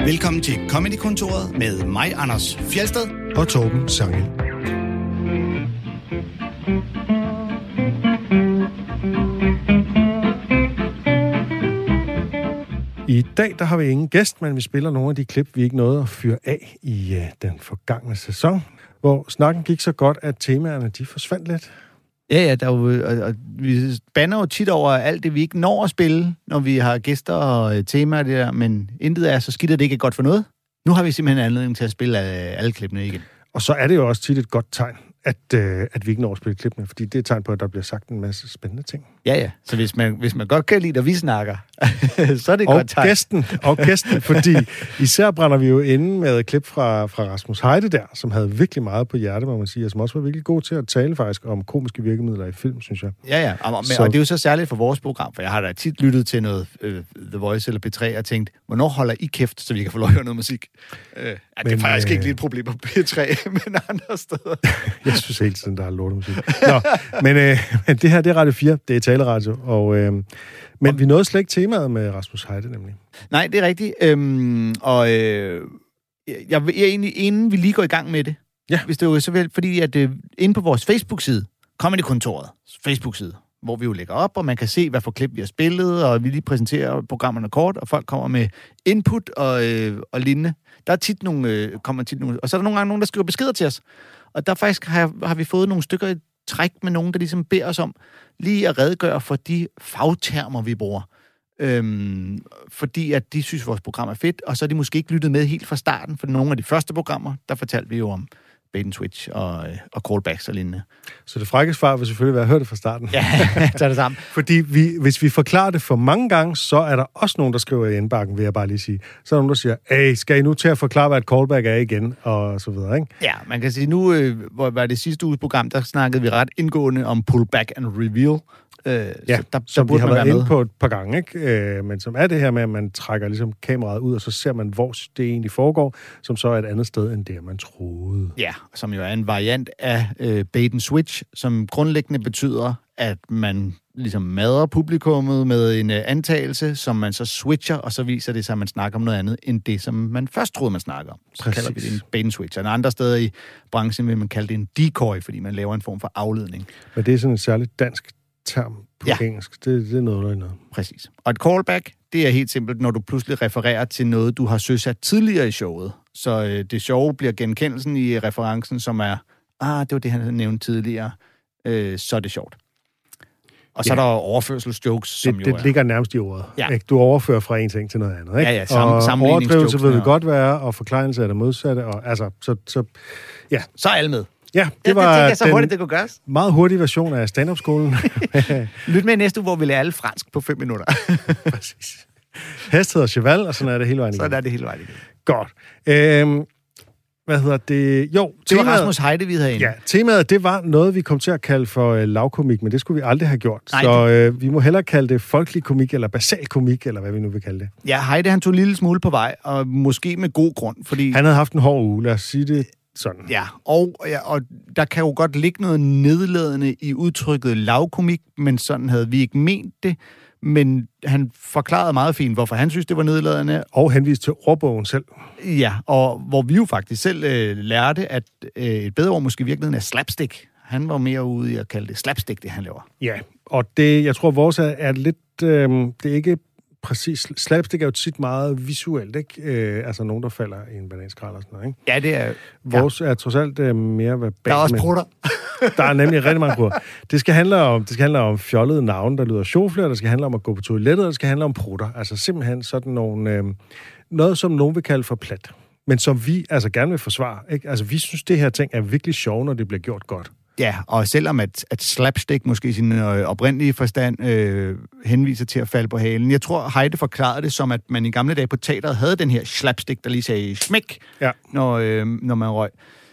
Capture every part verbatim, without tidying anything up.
Velkommen til Comedy-kontoret med mig, Anders Fjeldsted og Torben Sangel. I dag der har vi ingen gæst, men vi spiller nogle af de klip, vi ikke nåede at fyre af i uh, den forgangne sæson, hvor snakken gik så godt, at temaerne de forsvandt lidt. Ja, ja, der er jo, og, og vi bander jo tit over alt det, vi ikke når at spille, når vi har gæster og temaer det der, men intet er så skidt, at det ikke er godt for noget. Nu har vi simpelthen anledning til at spille alle klippene igen. Og så er det jo også tit et godt tegn, at, øh, at vi ikke når at spille klippene, fordi det er et tegn på, at der bliver sagt en masse spændende ting. Ja, ja. Så hvis man, hvis man godt kan lide, at vi snakker, så er det et og godt tegn. Gæsten, og gæsten, fordi især brænder vi jo inde med et klip fra, fra Rasmus Heide der, som havde virkelig meget på hjerte, må man sige, og som også var virkelig god til at tale faktisk om komiske virkemidler i film, synes jeg. Ja, ja. Og, så... og det er jo så særligt for vores program, for jeg har da tit lyttet til noget øh, The Voice eller P tre og tænkt, hvornår holder I kæft, så vi kan få lov at høre noget musik? Øh, ja, det er faktisk øh... ikke lige et problem på P tre, men andre steder. Jeg synes hele tiden, der er lortemusik. Nå, men, øh, men det her, det er Radio fire, det er taleradio, og, øh, men og... vi nåede slet ikke temaet med Rasmus Heide, nemlig. Nej, det er rigtigt. Øhm, og øh, jeg, jeg er egentlig, inden vi lige går i gang med det, ja. hvis det er jo så vel, fordi at øh, inde på vores Facebook-side, Comedy-kontoret, Facebook-side, hvor vi jo lægger op, og man kan se, hvad for klip vi har spillet, og vi lige præsenterer programmerne kort, og folk kommer med input og, øh, og lignende. Der er tit nogle, øh, kommer tit nogle, og så er der nogle gange nogen, der skriver beskeder til os. Og der faktisk har, har vi fået nogle stykker i træk med nogen, der ligesom beder os om lige at redegøre for de fagtermer, vi bruger. Øhm, fordi at de synes, vores program er fedt, og så er de måske ikke lyttet med helt fra starten, for nogle af de første programmer, der fortalte vi jo om bait and switch og, og callbacks og lignende. Så det frække svar vil selvfølgelig være at høre det fra starten. Ja, så er det samme. Fordi vi, hvis vi forklarer det for mange gange, så er der også nogen, der skriver i indbakken, vil jeg bare lige sige. Så er der nogen, der siger, hey, skal I nu til at forklare, hvad et callback er igen? Og så videre, ikke? Ja, man kan sige, nu øh, hvor var det sidste uges program, der snakkede vi ret indgående om pullback and reveal. Øh, ja, så der, som der vi har været inde med. på et par gange, ikke? Øh, men som er det her med, at man trækker ligesom kameraet ud, og så ser man, hvor det egentlig foregår, som så er et andet sted, end det, man troede. Ja, som jo er en variant af øh, bait and switch, som grundlæggende betyder, at man ligesom madrer publikummet med en øh, antagelse, som man så switcher, og så viser det sig, at man snakker om noget andet, end det, som man først troede, man snakker om. Så Præcis. kalder vi det en bait and switch. Og andre steder i branchen vil man kalde det en decoy, fordi man laver en form for afledning. Men det er sådan en særligt dansk term på ja. engelsk. Det, det er noget, noget. Præcis. Og et callback, det er helt simpelt, når du pludselig refererer til noget, du har søsat tidligere i showet. Så øh, det sjove bliver genkendelsen i referencen, som er, ah, det var det, han nævnte tidligere, øh, så er det sjovt. Og så ja. er der overførselsjokes, som det, jo det er... ligger nærmest i ordet. Ja. Ikke? Du overfører fra en ting til noget andet, ikke? Ja, ja, sam- og overdrivelse vil det godt være, og forklejelse er det modsatte, og altså, så, så ja. Så er alle med. Ja, det ja, var det, det så hurtigt, det kunne gøres. Meget hurtig version af stand-up-skolen. Lyt med næste uge, hvor vi lærer alle fransk på fem minutter. Præcis. Hest hedder cheval, og sådan er det hele vejen igen. Sådan er det hele vejen igen. Godt. Øhm, hvad hedder det? Jo, det temaet, var Rasmus Heide, vi havde inde. Ja, temaet, det var noget, vi kom til at kalde for øh, lavkomik, men det skulle vi aldrig have gjort. Nej, så øh, vi må hellere kalde det folkelig komik, eller basal komik, eller hvad vi nu vil kalde det. Ja, Heide, han tog en lille smule på vej, og måske med god grund, fordi... Han havde haft en hård uge, lad os sige det sådan. Ja, og, ja, og der kan jo godt ligge noget nedladende i udtrykket lavkomik, men sådan havde vi ikke ment det. Men han forklarede meget fint, hvorfor han synes, det var nedladende. Og henviste til ordbogen selv. Ja, og hvor vi jo faktisk selv øh, lærte, at øh, et bedre ord måske i virkeligheden er slapstick. Han var mere ude i at kalde det slapstick, det han laver. Ja, og det, jeg tror, vores er, er lidt... Øh, det er ikke præcis... Slapstick er jo tit meget visuelt, ikke? Øh, altså nogen, der falder i en bananskrald og sådan noget, ikke? Ja, det er... Vores ja. er trods alt øh, mere verbalt. Der er også prutter. Der er nemlig rigtig mange prutter. Det skal handle om, det skal handle om fjollede navne, der lyder sjovflør, der skal handle om at gå på toilettet, og det skal handle om prutter. Altså simpelthen sådan nogle... Øh, noget, som nogen vil kalde for plat. Men som vi altså gerne vil forsvare, ikke? Altså vi synes, det her ting er virkelig sjov, når det bliver gjort godt. Ja, og selvom at, at slapstick måske i sin øh, oprindelige forstand øh, henviser til at falde på halen. Jeg tror, Heide forklarede det som, at man i gamle dage på teateret havde den her slapstick, der lige sagde smæk, ja. når, øh, når man røg.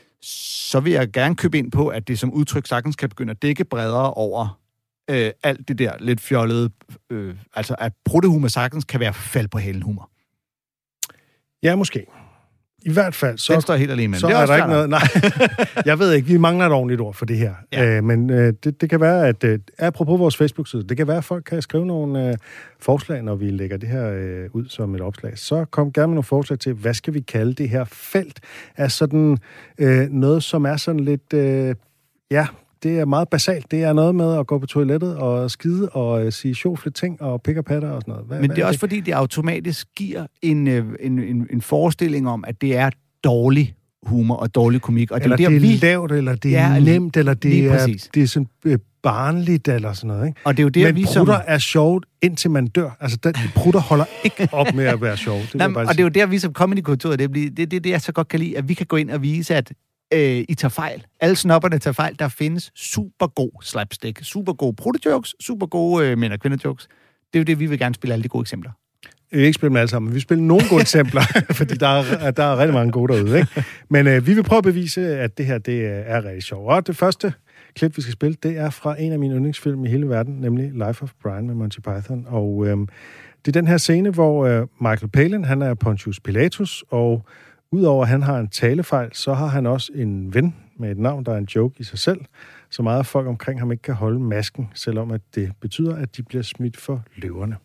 Så vil jeg gerne købe ind på, at det som udtryk sagtens kan begynde at dække bredere over øh, alt det der lidt fjollede. Øh, altså, at pruttehumor sagtens kan være fald på halen humor. Ja, måske. I hvert fald, så, Den står helt alene med. så det er, er der ikke noget. noget... Nej, jeg ved ikke, vi mangler et ordentligt ord for det her. Ja. Øh, men øh, det, det kan være, at... Øh, apropos vores Facebook-side, det kan være, at folk kan skrive nogle øh, forslag, når vi lægger det her øh, ud som et opslag. Så kom gerne med nogle forslag til, hvad skal vi kalde det her felt af sådan øh, noget, som er sådan lidt... Øh, ja... Det er meget basalt. Det er noget med at gå på toilettet og skide og øh, sige sjovfle ting og pick og patter og sådan noget. Hvad, Men hvad det er er også, fordi det automatisk giver en, øh, en, en, en forestilling om, at det er dårlig humor og dårlig komik. Og det eller er, der, det er vi... lavt, eller det er Ja, nemt, eller det er, præcis. det er sådan øh, barnligt, eller sådan noget. Ikke? Og det er jo der, Men vi prutter som... er sjovt, indtil man dør. Altså, den, prutter holder ikke op med at være sjov. Det Nej, og det er jo der, vi som Comedy-kontoret, det er det, det, det, jeg så godt kan lide, at vi kan gå ind og vise, at øh, I tager fejl. Alle snobberne tager fejl. Der findes super god slapstick, super gode prutterjokes, super gode øh, mænd- og kvinderjokes. Det er jo det, vi vil gerne spille alle de gode eksempler. Vi vil ikke spille dem alle sammen, men vi spiller nogle gode eksempler, fordi der er, der er rigtig mange gode derude. Ikke? Men øh, vi vil prøve at bevise, at det her det er rigtig sjovt. Og det første klip, vi skal spille, det er fra en af mine yndlingsfilm i hele verden, nemlig Life of Brian med Monty Python. Og øh, det er den her scene, hvor øh, Michael Palin, han er Pontius Pilatus, og udover at han har en talefejl, så har han også en ven med et navn, der er en joke i sig selv, så meget af folk omkring ham ikke kan holde masken, selvom at det betyder, at de bliver smidt for løverne.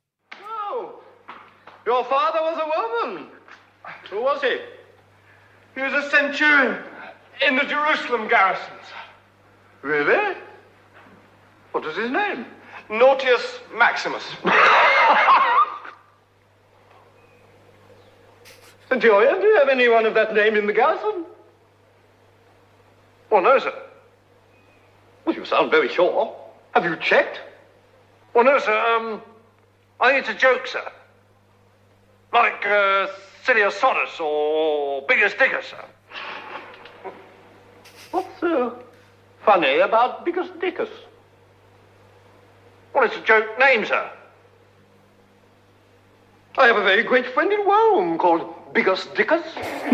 Your father was a woman. Who was he? He was a centurion in the Jerusalem garrisons. Really? What was his name? Nautius Maximus. Centurion, do you have anyone of that name in the garrison? Oh, no, sir. Well, you sound very sure. Have you checked? Well, no, sir. Um, I think it's a joke, sir. Like uh, Siliosotus or Biggest Dickus, sir. What's uh, funny about Biggest Dickus? Well, it's a joke name, sir. I have a very great friend in Rome called Biggest Dickus.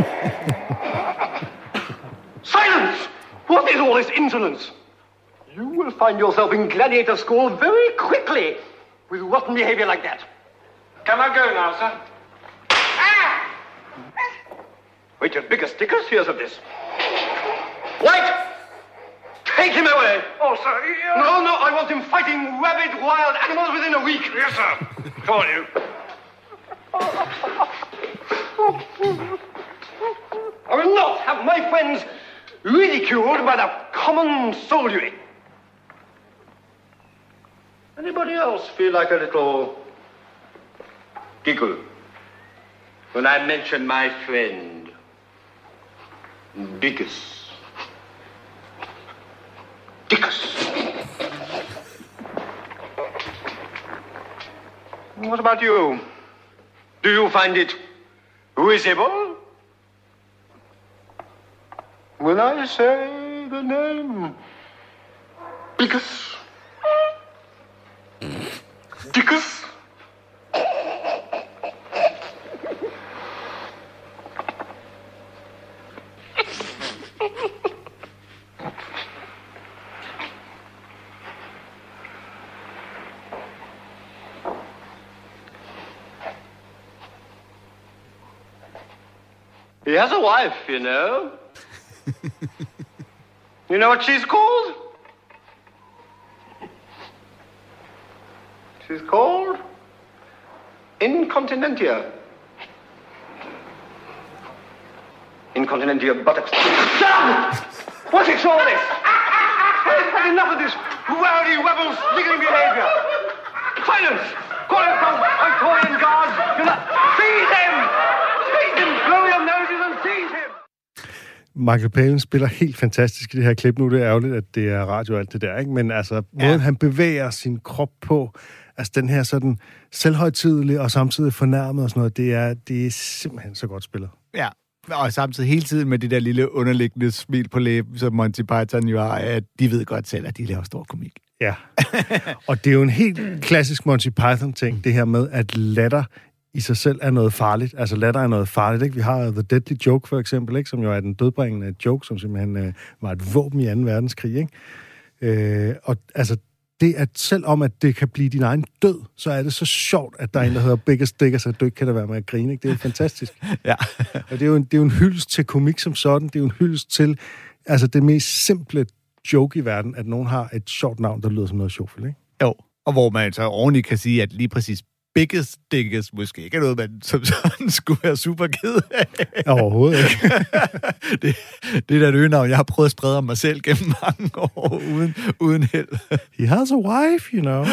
Silence! What is all this insolence? You will find yourself in gladiator school very quickly with rotten behavior like that. Can I go now, sir? Wait till Biggest Dickus hears of this. Wait! Take him away! Oh, sir, yeah. No, no, I want him fighting rabid wild animals within a week. Yes, sir. Come on, you. I will not have my friends ridiculed by the common soldiery. Anybody else feel like a little giggle when I mention my friend? Dickus. Dickus. What about you? Do you find it risible when I say the name Dickus? Dickus? He has a wife, you know. You know what she's called? She's called Incontinentia. Incontinentia buttocks. Stop! What is all this? I've had enough of this rowdy, rebel, sniggering behavior. Silence! Call it from Victorian guards. Do not seize him! Seize him! Blow your noses and seize him! Michael Palin spiller helt fantastisk i det her klip. Nu det er ærgerligt, at det er radio og alt det der, ikke? Men altså, måden ja. han bevæger sin krop på, altså den her sådan selvhøjtidelige og samtidig fornærmet og sådan noget, det er, det er simpelthen så godt spillet. Ja, og samtidig hele tiden med det der lille underliggende smil på læben, som Monty Python jo har, at de ved godt selv, at de laver stor komik. Ja, og det er jo en helt klassisk Monty Python-ting, det her med, at latter i sig selv er noget farligt. Altså latter er noget farligt, ikke? Vi har The Deadly Joke for eksempel, ikke? Som jo er den dødbringende joke, som simpelthen øh, var et våben i anden verdenskrig, ikke? Øh, og altså, det, at selvom at det kan blive din egen død, så er det så sjovt, at der er en, der hedder Biggest Stickers, at du ikke kan da være med at grine. Ikke? Det er fantastisk. Ja. Og det er, jo en, det er jo en hyldest til komik som sådan. Det er jo en hyldest til altså det mest simple joke i verden, at nogen har et sjovt navn, der lyder som noget sjovt, ikke? Jo, og hvor man så ordentligt kan sige, at lige præcis Biggest Stickers måske ikke er noget, man som sådan skulle være super ked af. Overhovedet ikke. det, det er da et øgenavn, jeg har prøvet at sprede om mig selv gennem mange år, uden, uden held. He has a wife, you know.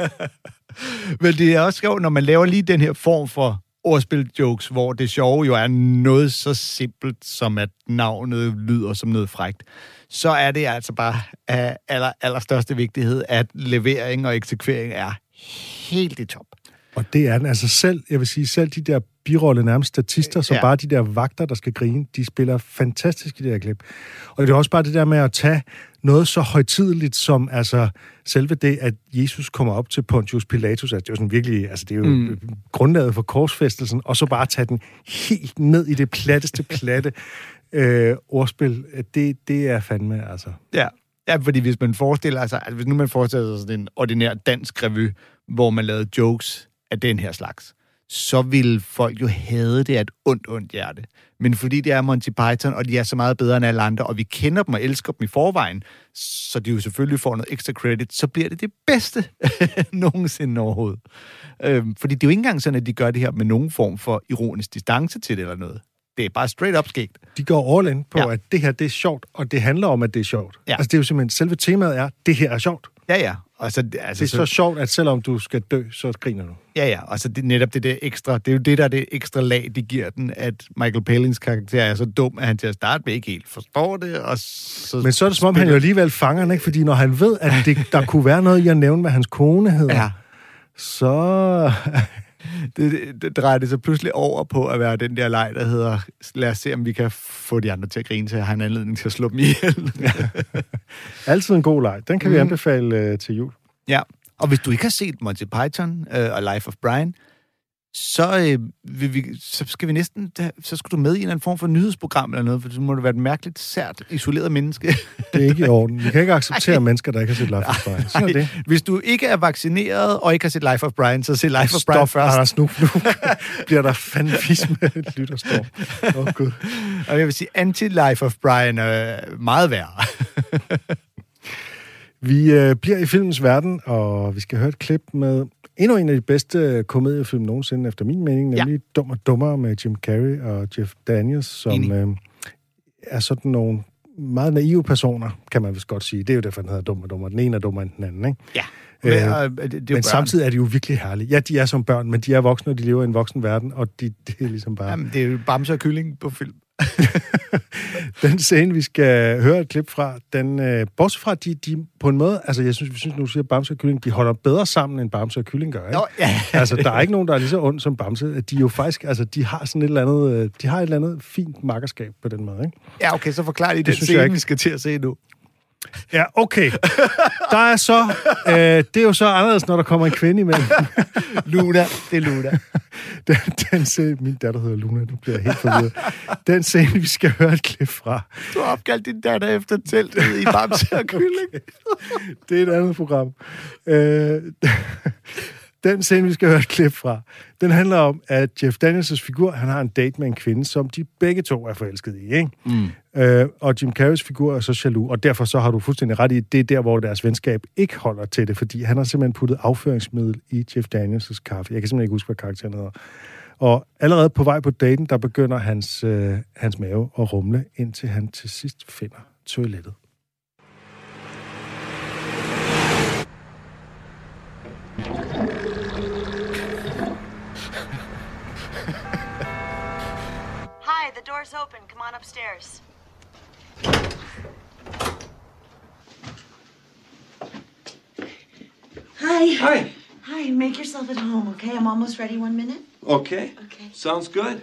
Men det er også sjovt, når man laver lige den her form for ordspil-jokes, hvor det sjove jo er noget så simpelt, som at navnet lyder som noget frækt, så er det altså bare af aller, allerstørste vigtighed, at levering og eksekvering er helt i top. Og det er den. Altså selv, jeg vil sige, selv de der birolle nærmest statister, som ja. bare de der vagter, der skal grine, de spiller fantastisk i det her klip. Og det er også bare det der med at tage noget så højtideligt som altså selve det, at Jesus kommer op til Pontius Pilatus, altså det er jo sådan virkelig, altså det er jo mm. grundlaget for korsfæstelsen, og så bare tage den helt ned i det platteste platte øh, ordspil. Det, det er fandme, altså. Ja. Ja, fordi hvis man forestiller sig, altså hvis nu man forestiller sig sådan en ordinær dansk revy, hvor man lavede jokes af den her slags, så ville folk jo hade det af et ondt, ondt hjerte. Men fordi det er Monty Python, og de er så meget bedre end alle andre, og vi kender dem og elsker dem i forvejen, så de jo selvfølgelig får noget ekstra credit, så bliver det det bedste nogensinde overhovedet. Øhm, fordi det er jo ikke engang sådan, at de gør det her med nogen form for ironisk distance til det eller noget. Det er bare straight up skægt. De går all in på, ja. at det her, det er sjovt, og det handler om, at det er sjovt. Ja. Altså, det er jo simpelthen, selve temaet er, det her er sjovt. Ja, ja. Og så, altså, det er så, så sjovt, at selvom du skal dø, så griner du. Ja, ja. Og så det, netop det der ekstra, det er jo det, der er det ekstra lag, de giver den, at Michael Palins karakter er så dum, at han til at starte med ikke helt forstår det, og så... Men så er det som om, han jo alligevel fanger den, ikke? Fordi når han ved, at det, der kunne være noget i at nævne, hvad hans kone hedder, ja. så... Det, det, det drejer det så pludselig over på at være den der leg, der hedder, lad os se, om vi kan få de andre til at grine, så jeg har en anledning til at slå dem ihjel. Altid en god leg. Den kan mm. vi anbefale uh, til jul. Ja, og hvis du ikke har set Monty Python uh, og Life of Brian, så, øh, vil vi, så skal vi næsten, så skal du med i en eller anden form for nyhedsprogram eller noget, for så må det være et mærkeligt, sært, isoleret menneske. Det er ikke i orden. Vi kan ikke acceptere Ej. mennesker, der ikke har set Life of Brian. Sådan er det. Hvis du ikke er vaccineret og ikke har set Life of Brian, så se Life of Brian Stop, først. Stop, nu, nu bliver der fandme fisk med et lytterstorm. Åh, oh, Gud. Og jeg vil sige, anti-Life of Brian er meget værre. Vi øh, bliver i filmens verden, og vi skal høre et klip med endnu en af de bedste komediefilm nogensinde, efter min mening, nemlig ja. Dum og Dummere med Jim Carrey og Jeff Daniels, som øh, er sådan nogle meget naive personer, kan man vist godt sige. Det er jo derfor, den hedder Dum og Dummere. Den ene er dummere end den anden, ikke? Ja. Men, øh, det, det men samtidig er de jo virkelig herlige. Ja, de er som børn, men de er voksne, og de lever i en voksen verden, og de, det er ligesom bare... Jamen, det er jo bamse og kylling på film. Den scene, vi skal høre et klip fra, den, øh, bortset fra, de, de på en måde, altså jeg synes, vi synes, nu siger Bamse og Kylling, de holder bedre sammen, end Bamse og Kylling gør, ikke? Nå, ja. Altså, der er ikke nogen, der er lige så ond som Bamse. De er jo faktisk, altså, de har sådan et eller andet, de har et eller andet fint makkerskab på den måde, ikke? Ja, okay, så forklar lige det den scene, vi skal til at se nu. Ja, okay. Der er så... Øh, det er jo så anderledes, når der kommer en kvinde imellem. Luna, det er Luna. Den, den scene... Min datter hedder Luna, nu bliver jeg helt forvirret. Den scene, vi skal høre et klip fra. Du har opkaldt din datter efter teltet i Bamse og Kylling. Okay. Det er et andet program. Øh, den scene, vi skal høre et klip fra, den handler om, at Jeff Daniels' figur, han har en date med en kvinde, som de begge to er forelsket i, ikke? Mm. Øh, og Jim Carreys figur er så jaloux, og derfor så har du fuldstændig ret i, det er der, hvor deres venskab ikke holder til det, fordi han har simpelthen puttet afføringsmiddel i Jeff Daniels' kaffe. Jeg kan simpelthen ikke huske, hvad karakteren hedder. Og allerede på vej på daten, der begynder hans, øh, hans mave at rumle, indtil han til sidst finder toilettet. Hi, the door's open. Come on upstairs. Hi. Hi. Hi, make yourself at home, okay? I'm almost ready. One minute? Okay. Okay. Sounds good.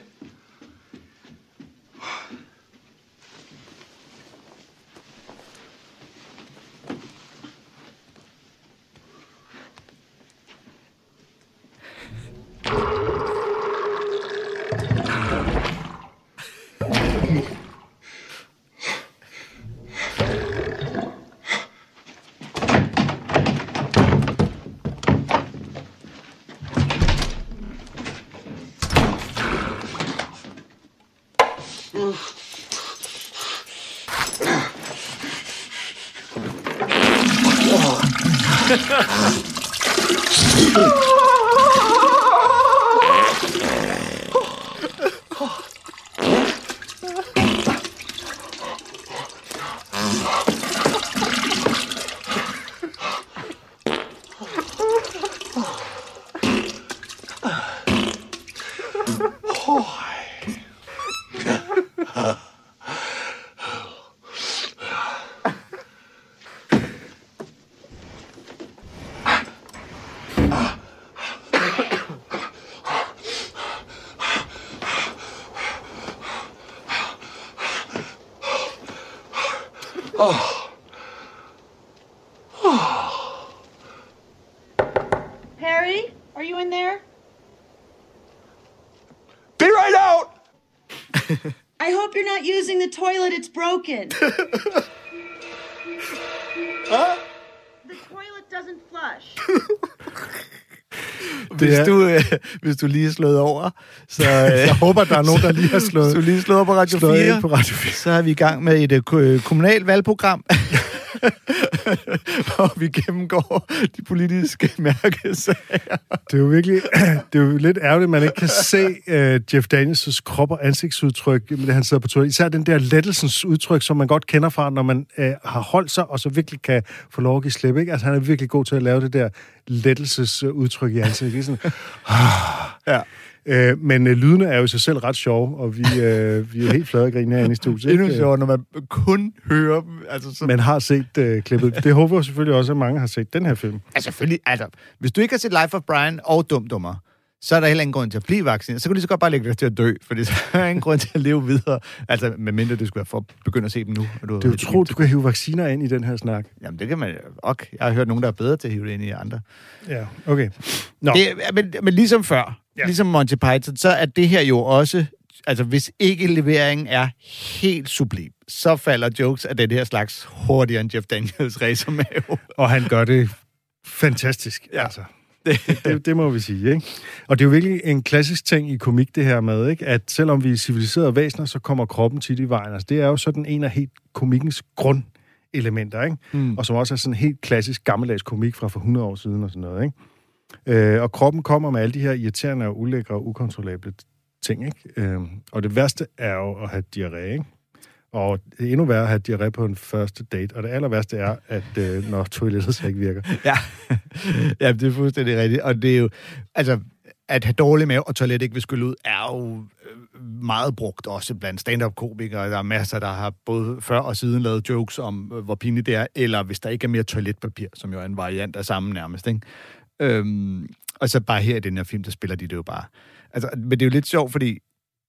Harry, are you in there? Be right out! I hope you're not using the toilet. It's broken. Huh? The toilet doesn't flush. Hvis du, øh, hvis du lige er slået over, så... Øh, Jeg håber, der er nogen, der lige har slået, hvis du lige er slået over på Radio slået fire, ind på Radio fire. så er vi i gang med et øh, kommunalt valgprogram, hvor vi gennemgår de politiske mærkesager. Det er jo virkelig, det er jo lidt ærgerligt, at man ikke kan se uh, Jeff Daniels' krop og ansigtsudtryk, med det han sidder på toilet. Især den der lettelsens udtryk, som man godt kender fra, når man uh, har holdt sig, og så virkelig kan få lov at give slip, ikke? Altså, han er virkelig god til at lave det der lettelsesudtryk i ansigtet. Det er sådan, Ja. Uh, men uh, lydene er jo i sig selv ret sjove, og vi, uh, vi er jo helt flade og grine herinde i studiet. Endnu ikke? sjovere, når man kun hører dem. Altså, så... Man har set uh, klippet. Det håber jeg selvfølgelig også, at mange har set den her film. Altså, selvfølgelig, altså, hvis du ikke har set Life of Brian og Dum Dummer, så er der heller ingen grund til at blive vaccineret. Så kan du lige så godt bare lægge dig til at dø, for så er der ingen grund til at leve videre. Altså, medmindre det skulle være for at begynde at se dem nu. Og du Det er jo tro, du kan hive vacciner ind i den her snak. Jamen, det kan man ok. Jeg har hørt nogen, der er bedre til at hive det ind i andre. Ja, okay. Nå. Det, men, men ligesom før, ja. Ligesom Monty Python, så er det her jo også... Altså, hvis ikke leveringen er helt sublim, så falder jokes af den her slags hurtigere end Jeff Daniels racermave. Og han gør det fantastisk, Ja. altså. Det, det, det må vi sige, ikke? Og det er jo virkelig en klassisk ting i komik, det her med, ikke? At selvom vi er civiliserede væsener, så kommer kroppen tit i vejen. Altså, det er jo sådan en af helt komikkens grundelementer, ikke? Mm. Og som også er sådan helt klassisk gammeldags komik fra for hundrede år siden og sådan noget, ikke? Øh, og kroppen kommer med alle de her irriterende og ulækre og ukontrollable ting, ikke? Øh, og det værste er jo at have diarré, ikke? Og det er endnu værre at have diarré på en første date. Og det aller værste er, at øh, når toilettet så ikke virker. Ja. Ja, det er fuldstændig rigtigt. Og det er jo... Altså, at have dårlig mave og toilet ikke vil skylle ud, er jo meget brugt også blandt stand-up-komikere. Der er masser, der har både før og siden lavet jokes om, hvor pinligt det er, eller hvis der ikke er mere toiletpapir, som jo er en variant af samme nærmest, ikke? Øhm, og så bare her i den her film, der spiller de det jo bare. Altså, men det er jo lidt sjovt, fordi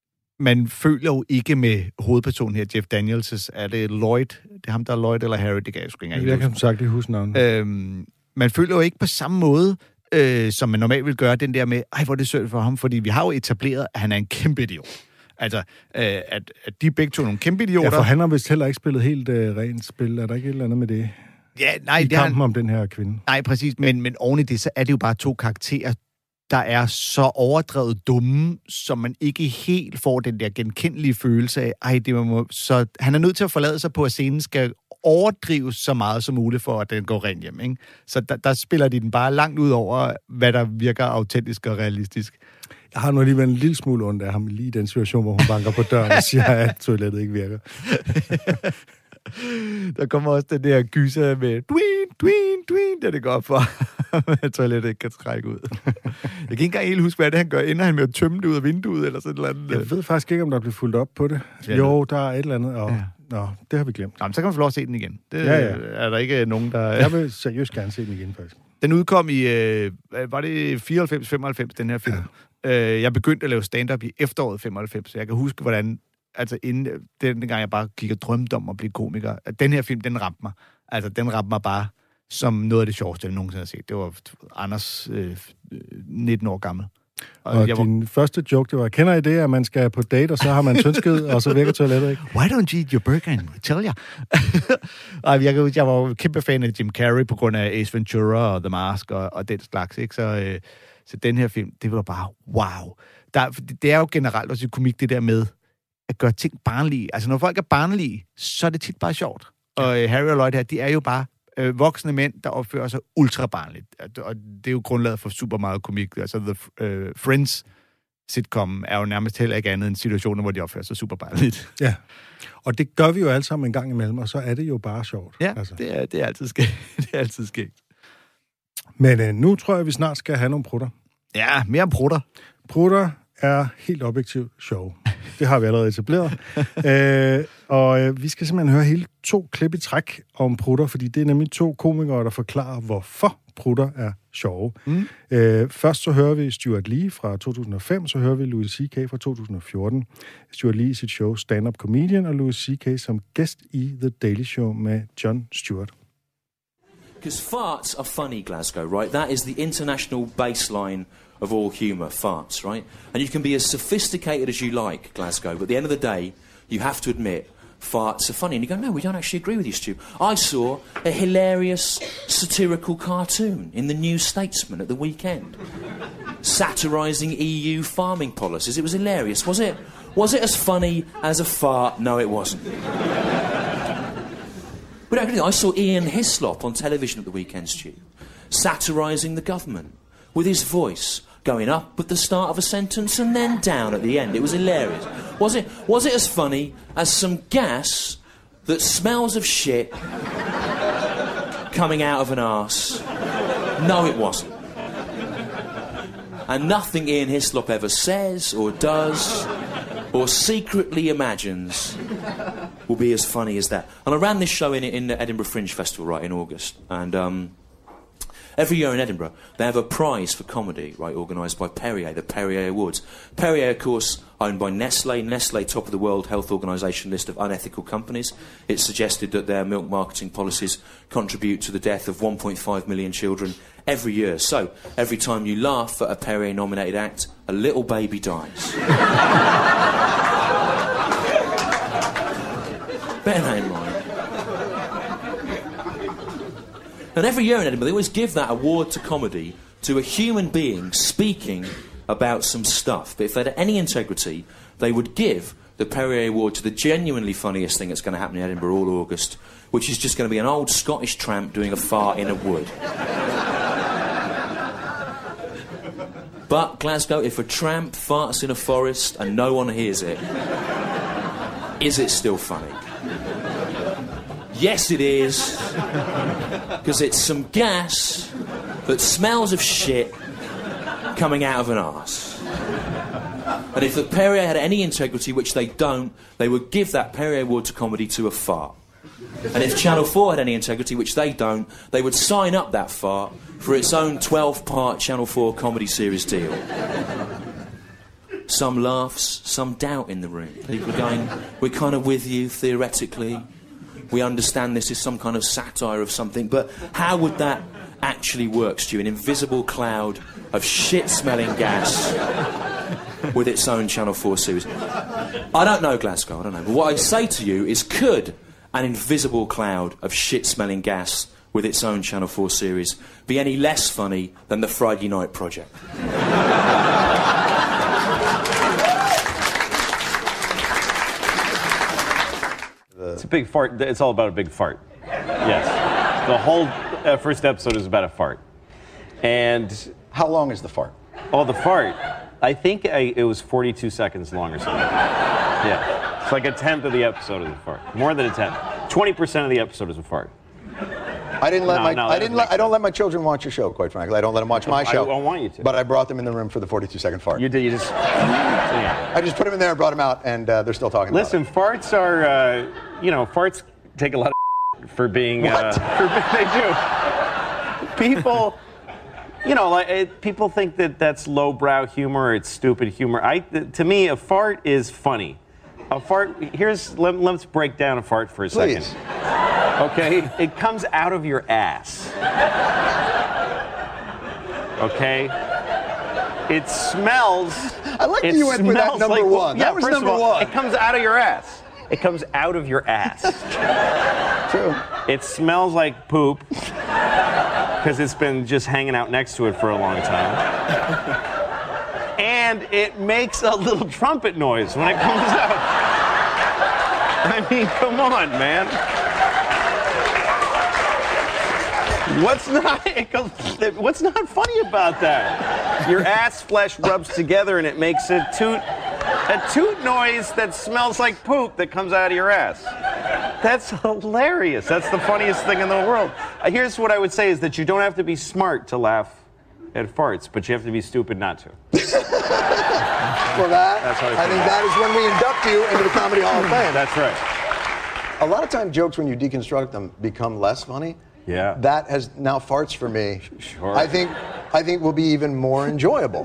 man føler jo ikke med hovedpersonen her, Jeff Daniels. Er det Lloyd? Det er ham, der er Lloyd eller Harry? Det kan jeg sgu ikke engang. Jeg kan som sagt ikke huske navnet. Øhm, man føler jo ikke på samme måde, øh, som man normalt vil gøre, den der med, ej, hvor er det synd for ham, fordi vi har jo etableret, at han er en kæmpe idiot. Altså, øh, at, at de begge to er nogle kæmpe idioter. Ja, for han har vist heller ikke spillet helt øh, rent spil. Er der ikke et eller andet med det? Ja, nej, I det kampen han... om den her kvinde. Nej, præcis. Men, men oven i det, så er det jo bare to karakterer, der er så overdrevet dumme, som man ikke helt får den der genkendelige følelse af, ej, det må... Så han er nødt til at forlade sig på, at scenen skal overdrives så meget som muligt, for at den går rent hjem, ikke? Så der, der spiller de den bare langt ud over, hvad der virker autentisk og realistisk. Jeg har nu alligevel en lille smule ondt af ham lige i den situation, hvor hun banker på døren og siger, at toilettet ikke virker. Der kommer også den der gyser med dwin, dwin, dwin, der det går op for, at toilettet ikke kan trække ud. Jeg kan ikke engang helt huske, hvad det han gør. Ender han med at tømme det ud af vinduet, eller sådan noget? Jeg ved faktisk ikke, om der bliver fuldt op på det. Ja, jo, der er et eller andet, og ja. Nå, det har vi glemt. Nå, men så kan man få lov at se den igen. Det Ja, ja. er der ikke nogen, der... Jeg vil seriøst gerne se den igen, faktisk. Den udkom i, øh, var det fireoghalvfems femoghalvfems, den her film. Ja. Øh, jeg begyndte at lave stand-up i efteråret femoghalvfems, så jeg kan huske, hvordan, altså inden, den gang jeg bare gik og drømte om at blive komiker, at den her film, den ramte mig. Altså, den ramte mig bare som noget af det sjoveste, jeg nogensinde har set. Det var Anders, øh, nitten år gammel. Og, og jeg din var... første joke, det var, kender I det, at man skal på date, og så har man tyndskid, og så virker toilettet ikke? Why don't you eat your burger and tell ya? Ej, jeg, jeg var jo kæmpe fan af Jim Carrey på grund af Ace Ventura og The Mask og, og den slags, ikke? Så, øh, så den her film, det var bare wow. Der, det er jo generelt også i komik det der med, at gøre ting barnlige. Altså, når folk er barnlige, så er det tit bare sjovt. Og øh, Harry og Lloyd her, de er jo bare øh, voksne mænd, der opfører sig ultra barnligt. Og det er jo grundlaget for super meget komik. Altså, The øh, Friends sitcom er jo nærmest heller ikke andet end situationer, hvor de opfører sig super barnligt. Ja, og det gør vi jo alle sammen en gang imellem, og så er det jo bare sjovt. Ja, altså. det, er, det er altid skægt. det er altid skægt. Men øh, nu tror jeg, vi snart skal have nogle prutter. Ja, mere om prutter. Prutter er helt objektivt sjov. Det har vi allerede etableret. øh, og øh, vi skal simpelthen høre hele to klip i træk om prutter, fordi det er nemlig to komikere, der forklarer, hvorfor prutter er sjove. Mm. Øh, først så hører vi Stuart Lee fra to tusind og fem, så hører vi Louis C K fra to tusind og fjorten. Stuart Lee i sit show Stand Up Comedian, og Louis C K som gæst i The Daily Show med Jon Stewart. Because farts are funny, Glasgow, right? That is the international baseline of all humour, farts, right? And you can be as sophisticated as you like, Glasgow, but at the end of the day, you have to admit farts are funny. And you go, no, we don't actually agree with you, Stu. I saw a hilarious satirical cartoon in the New Statesman at the weekend, satirising E U farming policies. It was hilarious, was it? Was it as funny as a fart? No, it wasn't. But I saw Ian Hislop on television at the weekend, Stu, satirising the government with his voice going up at the start of a sentence and then down at the end. It was hilarious. Was it, was it as funny as some gas that smells of shit coming out of an arse? No, it wasn't. And nothing Ian Hislop ever says or does or secretly imagines will be as funny as that. And I ran this show in, in the Edinburgh Fringe Festival, right, in August. And um, every year in Edinburgh, they have a prize for comedy, right, organised by Perrier, the Perrier Awards. Perrier, of course, owned by Nestle. Nestle, top of the World Health Organisation list of unethical companies. It's suggested that their milk marketing policies contribute to the death of one point five million children every year. So, every time you laugh at a Perrier-nominated act, a little baby dies. Bear that in mind. And every year in Edinburgh, they always give that award to comedy to a human being speaking about some stuff. But if they had any integrity, they would give the Perrier Award to the genuinely funniest thing that's going to happen in Edinburgh all August, which is just going to be an old Scottish tramp doing a fart in a wood. But, Glasgow, if a tramp farts in a forest and no one hears it, is it still funny? Yes, it is. Because it's some gas that smells of shit coming out of an arse. And if the Perrier had any integrity, which they don't, they would give that Perrier Award to comedy to a fart. And if Channel four had any integrity, which they don't, they would sign up that fart for its own twelve-part Channel four comedy series deal. Some laughs, some doubt in the room. People are going, we're kind of with you, theoretically. We understand this is some kind of satire of something, but how would that actually work, Stu? An invisible cloud of shit-smelling gas with its own Channel four series. I don't know, Glasgow, I don't know. But what I say to you is, could an invisible cloud of shit-smelling gas with its own Channel four series be any less funny than the Friday Night Project? It's a big fart. It's all about a big fart. Yes. The whole uh, first episode is about a fart. And... How long is the fart? Oh, the fart. I think I, it was forty-two seconds long or something. Yeah. It's like a tenth of the episode of the fart. More than a tenth. twenty percent of the episode is a fart. I didn't let no, my no, I didn't let, I don't let my children watch your show, quite frankly. I don't let them watch my show. I, I want you to. But I brought them in the room for the forty-two second fart. You did. You just. Yeah. I just put them in there and brought them out, and uh, they're still talking. Listen, about it. farts are, uh, you know, farts take a lot of for being. What? Uh, for, they do. People, you know, like it, people think that that's lowbrow humor or it's stupid humor. I, to me, a fart is funny. A fart. Here's let, let's break down a fart for a Please. second. Okay, it comes out of your ass. Okay, it smells. I like that you went with that number like, one. Yeah, that was first number of all, one. It comes out of your ass. It comes out of your ass. True. It smells like poop because it's been just hanging out next to it for a long time. And it makes a little trumpet noise when it comes out. I mean, come on, man. What's not, it goes, what's not funny about that? Your ass flesh rubs together and it makes a toot, a toot noise that smells like poop that comes out of your ass. That's hilarious. That's the funniest thing in the world. Here's what I would say is that you don't have to be smart to laugh at farts, but you have to be stupid not to. For that, That's how I I think that is when we induct you into the Comedy Hall of Fame. That's right. A lot of time jokes, when you deconstruct them, become less funny. Yeah. That has now farts for me. Sure. I think I think will be even more enjoyable.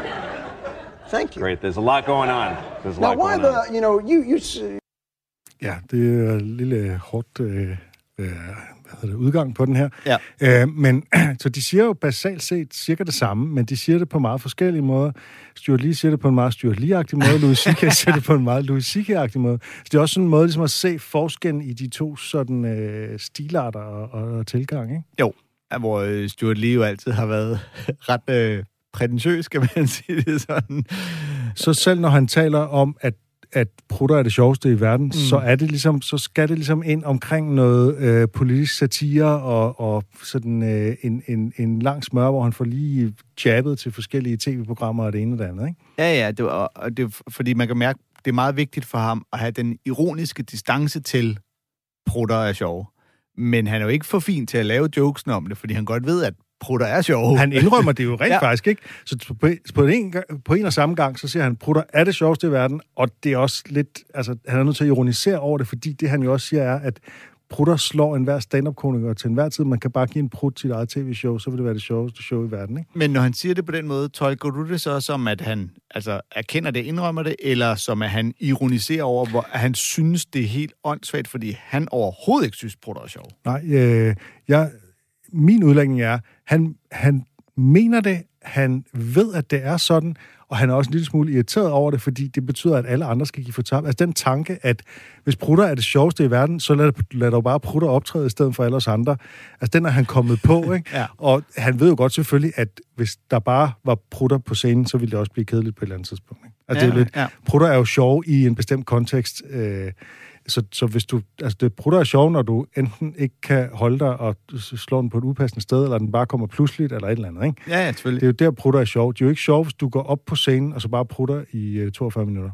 Thank you. Great. There's a lot going on. There's a Now, lot why going the on. you know you you s- Ja, det er et lille hårdt øh, øh, hvad hedder det, udgang på den her. Ja. Øh, men så de siger jo basalt set cirka det samme, men de siger det på meget forskellige måder. Stuart Lee siger det på en meget Stuart Lee-agtig måde, Louis C K siger det på en meget Louis C K-agtig måde. Så det er også sådan en måde ligesom at se forskellen i de to sådan øh, stilarter og, og, og tilgang, ikke? Jo, hvor øh, Stuart Lee jo altid har været ret øh, prætentiøs, kan man sige det sådan. Så selv når han taler om, at at prutter er det sjoveste i verden, mm. så er det ligesom, så skal det ligesom ind omkring noget øh, politisk satire og, og sådan øh, en, en, en lang smør, hvor han får lige jabbet til forskellige tv-programmer og det ene og det andet, ikke? Ja, ja, det var, og det er, fordi man kan mærke, det er meget vigtigt for ham at have den ironiske distance til prutter er sjove. Men han er jo ikke for fin til at lave jokesen om det, fordi han godt ved, at prutter er sjove. Han indrømmer det jo rent Ja. faktisk, ikke? Så på, på, en, gang- på en og samme gang, så siger han, prutter er det sjoveste i verden, og det er også lidt, altså han er nødt til at ironisere over det, fordi det han jo også siger er, at prutter slår enhver stand-up-komiker til enhver tid. Man kan bare give en prut til sit eget tv-show, så vil det være det sjoveste show i verden, ikke? Men når han siger det på den måde, tolker du det så som, at han altså, erkender det, indrømmer det, eller som at han ironiserer over, hvor at han synes, det er helt åndssvagt, fordi han overhovedet ikke synes, prutter er sjov? Nej, øh, jeg, min udlægning er, han, han mener det, han ved, at det er sådan, og han er også en lille smule irriteret over det, fordi det betyder, at alle andre skal give fortabt. Altså den tanke, at hvis prutter er det sjoveste i verden, så lad, lad dog bare prutter optræde i stedet for alle os andre. Altså den er han kommet på, ikke? Ja. Og han ved jo godt selvfølgelig, at hvis der bare var prutter på scenen, så ville det også blive kedeligt på et eller andet tidspunkt, ikke? Altså Ja, det er jo lidt, ja. prutter er jo sjove i en bestemt kontekst, øh, Så, så hvis du, altså det prutter er sjov, når du enten ikke kan holde dig og slå den på et upassende sted, eller den bare kommer pludseligt, eller et eller andet, ikke? Ja, ja, selvfølgelig. Det er jo der, prutter er sjov. Det er jo ikke sjov, hvis du går op på scenen, og så bare prutter i uh, toogfyrre minutter.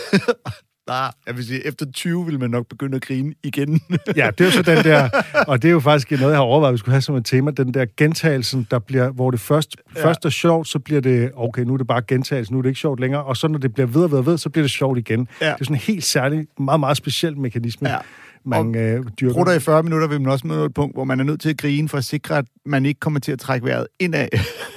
Nej, jeg vil sige, efter tyve vil man nok begynde at grine igen. Ja, det er jo så den der, og det er jo faktisk noget, jeg har overvejet, at vi skulle have som et tema, den der gentagelsen, der bliver, hvor det først, ja. først er sjovt, så bliver det, okay, nu er det bare gentagelse, nu er det ikke sjovt længere, og så når det bliver ved og ved og ved, så bliver det sjovt igen. Ja. Det er sådan en helt særlig, meget, meget speciel mekanisme, ja. man øh, dyrker. Prutter i fyrre minutter vil man også møde et punkt, hvor man er nødt til at grine for at sikre, at man ikke kommer til at trække vejret indad.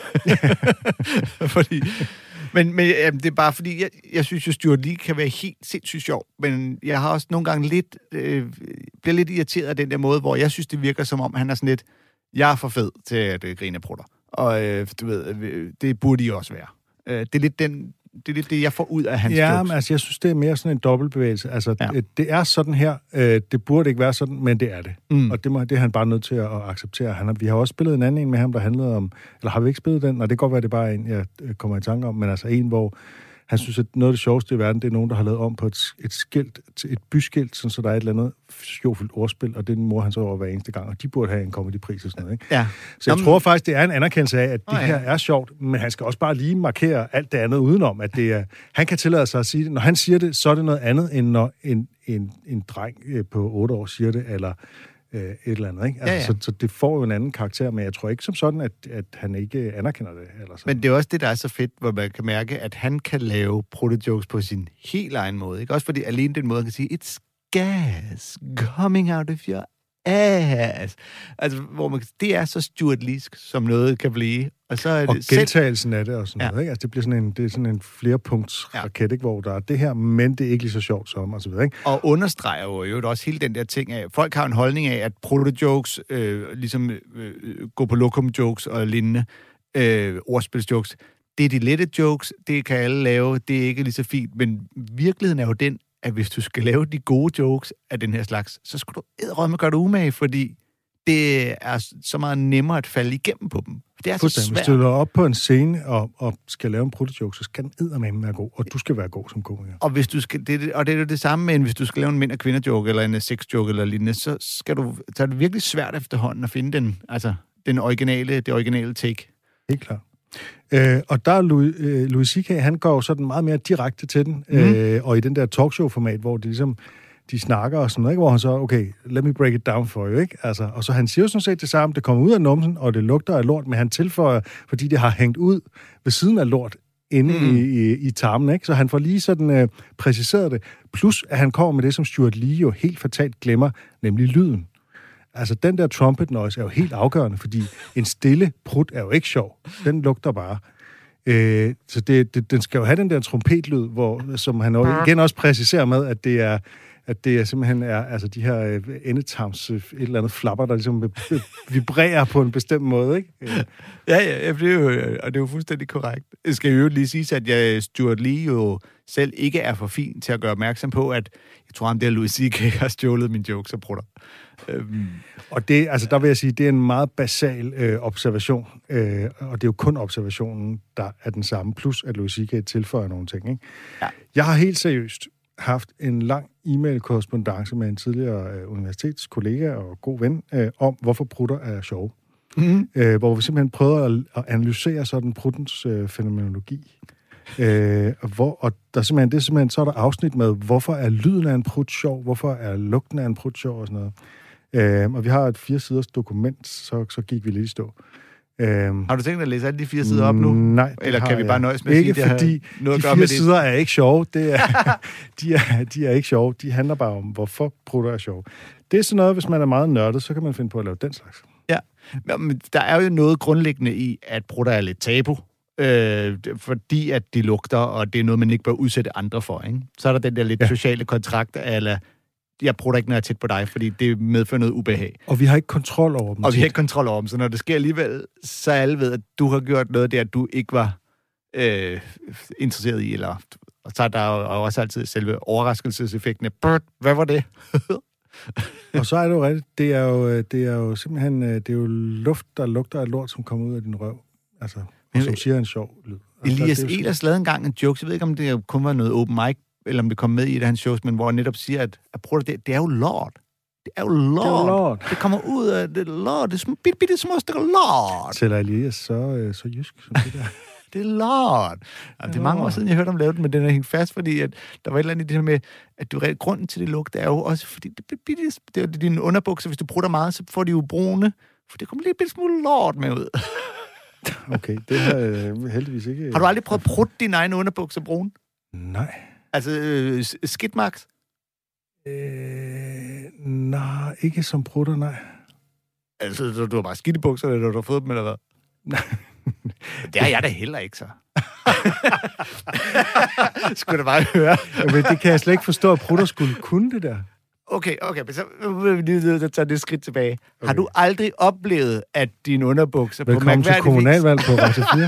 Fordi... Men, men jamen, det er bare fordi, jeg, jeg synes jo, Stuart Lee kan være helt sindssygt sjov, men jeg har også nogle gange lidt, øh, bliver lidt irriteret af den der måde, hvor jeg synes, det virker som om, han er sådan lidt, jeg er for fed til at øh, grine af prutter. Og øh, du ved, øh, det burde I også være. Øh, det er lidt den... Det er lidt det, jeg får ud af hans ja, jokes. Men, altså, jeg synes, det er mere sådan en dobbeltbevægelse. Altså, ja. det, det er sådan her. Øh, det burde ikke være sådan, men det er det. Mm. Og det, må, det er han bare nødt til at, at acceptere. Han har, vi har også spillet en anden en med ham, der handlede om... Eller har vi ikke spillet den? Nej, det kan godt være, det er bare en, jeg kommer i tanke om. Men altså en, hvor han synes, at noget af det sjoveste i verden, det er nogen, der har lavet om på et, et skilt, et byskilt, sådan, så der er et eller andet sjovfuldt ordspil, og det mor han så over hver eneste gang, og de burde have en comedypris og sådan noget, ikke? Ja. Så jeg Jamen, tror faktisk, det er en anerkendelse af, at det oh, ja. her er sjovt, men han skal også bare lige markere alt det andet udenom, at det er, han kan tillade sig at sige det. Når han siger det, så er det noget andet, end når en, en, en dreng på otte år siger det, eller øh, et eller andet, ikke? Altså, ja, ja. Så, så det får jo en anden karakter, men jeg tror ikke som sådan, at, at han ikke anerkender det. Eller sådan. Men det er også det, der er så fedt, hvor man kan mærke, at han kan lave prutte-jokes på sin helt egen måde, ikke? Også fordi alene den måde, han kan sige, it's gas coming out of your ass. Altså, hvor man, det er så Stuart Leesk, som noget kan blive. Og, så er og det gentagelsen af det og sådan ja. noget, ikke? Altså, det bliver sådan en, det er sådan en flerpunktsraket, ikke? Hvor der er det her, men det er ikke lige så sjovt som, og så videre, ikke? Og understreger jo, jo også hele den der ting af, folk har en holdning af, at proto-jokes, øh, ligesom øh, gå på lokum-jokes og lignende, øh, ordspilsjokes, det er de lette jokes, det kan alle lave, det er ikke lige så fint, men virkeligheden er jo den, at hvis du skal lave de gode jokes af den her slags, så skal du edderrømme gøre det umage, fordi det er så meget nemmere at falde igennem på dem. Det er så svært. Hvis du løber op på en scene og, og skal lave en pruttejoke, så skal den eddermame være god, og du skal være god som komiker. Og, hvis du skal, det, og det er jo det samme, men hvis du skal lave en mænd- og kvinder-joke, eller en sex-joke, eller lignende, så, skal du, så er det virkelig svært efterhånden at finde den, altså, den originale, det originale take. Helt klart. Øh, og der er Louis, øh, Louis C K, han går jo sådan meget mere direkte til den, mm. øh, og i den der talkshow-format, hvor det ligesom de snakker og sådan noget, ikke? Hvor han så, okay, let me break it down for you, ikke? Altså, og så han siger jo sådan set det samme, det kommer ud af numsen, og det lugter af lort, men han tilføjer, fordi det har hængt ud ved siden af lort inde mm. i, i, i tarmen, ikke? Så han får lige sådan øh, præciseret det. Plus, at han kommer med det, som Stuart Lee jo helt fatalt glemmer, nemlig lyden. Altså, den der trumpet noise er jo helt afgørende, fordi en stille prut er jo ikke sjov. Den lugter bare. Øh, så det, det, den skal jo have den der trompetlyd, hvor, som han jo igen også præciserer med, at det er at det er simpelthen er altså de her øh, endetarms øh, et eller andet flapper, der ligesom øh, vibrerer på en bestemt måde, ikke? Øh. Ja, ja, det er jo, og det er jo fuldstændig korrekt. Jeg skal jo lige sige, at jeg, Stuart Lee jo selv ikke er for fin til at gøre opmærksom på, at jeg tror, at det er Louis C K har stjålet min jokes og prutter. Øhm. Og det, altså der vil jeg sige, det er en meget basal øh, observation, øh, og det er jo kun observationen, der er den samme, plus at Louis C K tilføjer nogle ting, ikke? Ja. Jeg har helt seriøst haft en lang e-mail-korrespondance med en tidligere øh, universitetskollega og god ven øh, om, hvorfor prutter er sjove. Mm-hmm. Øh, hvor vi simpelthen prøvede at, at analysere sådan pruttens øh, fænomenologi. Øh, hvor, og der simpelthen, det er simpelthen, så er der afsnit med, hvorfor er lyden af en prut sjov, hvorfor er lugten af en prut sjov og sådan noget. Øh, og vi har et fire siders dokument, så, så gik vi lidt i stå. Øhm, har du tænkt at læse alle de fire sider op nu? Nej. Eller kan vi bare nøjes med ikke at sige, fordi det noget de fire fire sider er ikke sjove. Det er, de, er, de er ikke sjove. De handler bare om, hvorfor prutter er sjove. Det er sådan noget, hvis man er meget nørdet, så kan man finde på at lave den slags. Ja, men der er jo noget grundlæggende i, at prutter er lidt tabu. Øh, fordi at de lugter, og det er noget, man ikke bør udsætte andre for, ikke? Så er der den der lidt ja. sociale kontrakt, eller jeg prutter ikke, når jeg er tæt på dig, fordi det medfører noget ubehag. Og vi har ikke kontrol over dem. Og vi har ikke kontrol over dem, så når det sker alligevel, så alle ved, at du har gjort noget der, du ikke var øh, interesseret i, eller og så er der jo også altid selve overraskelseseffekten af, hvad var det? Og så er det jo rigtigt, det er jo, det er jo simpelthen, det er jo luft, der lugter af lort, som kommer ud af din røv. Altså, og som siger en sjov lyd. Altså, Elias Ehlers lavede engang en joke, jeg ved ikke, om det kun var noget open mic, eller om det kom med i et af hans shows, men hvor han netop siger, at, at prøv det, det er jo lort. Det er jo lort. Det, er lort. Det kommer ud af det lort. Det er bitte, bitte små stykker lort. Tæller Elias så, så jysk som det der. Det er lort. Altså, det er mange år siden, jeg hørte om lave den, men den er hængt fast, fordi at der var et eller andet i det her med, at du, grunden til det lugt er jo også, fordi det, det, det er dine underbukser, hvis du prutter meget, så får de jo brune, for det kommer lidt bitte smule lort med ud. Okay, det har jeg heldigvis ikke... Har du aldrig prøvet at prutte dine egne underbukser brune? Nej. Altså, øh, skidtmarks? Øh, nej, ikke som prutter, nej. Altså, du har bare skidt i bukserne, når du har fået dem, eller hvad? Nej. Det har jeg da heller ikke, så. Skulle du bare høre. Men det kan jeg slet ikke forstå, at prutter skulle kunne det der. Okay, okay, men så vil vi lige tage det skridt tilbage. Okay. Har du aldrig oplevet, at dine underbukser på mærkværdig vis... Velkommen til kommunalvalg på Radio fire.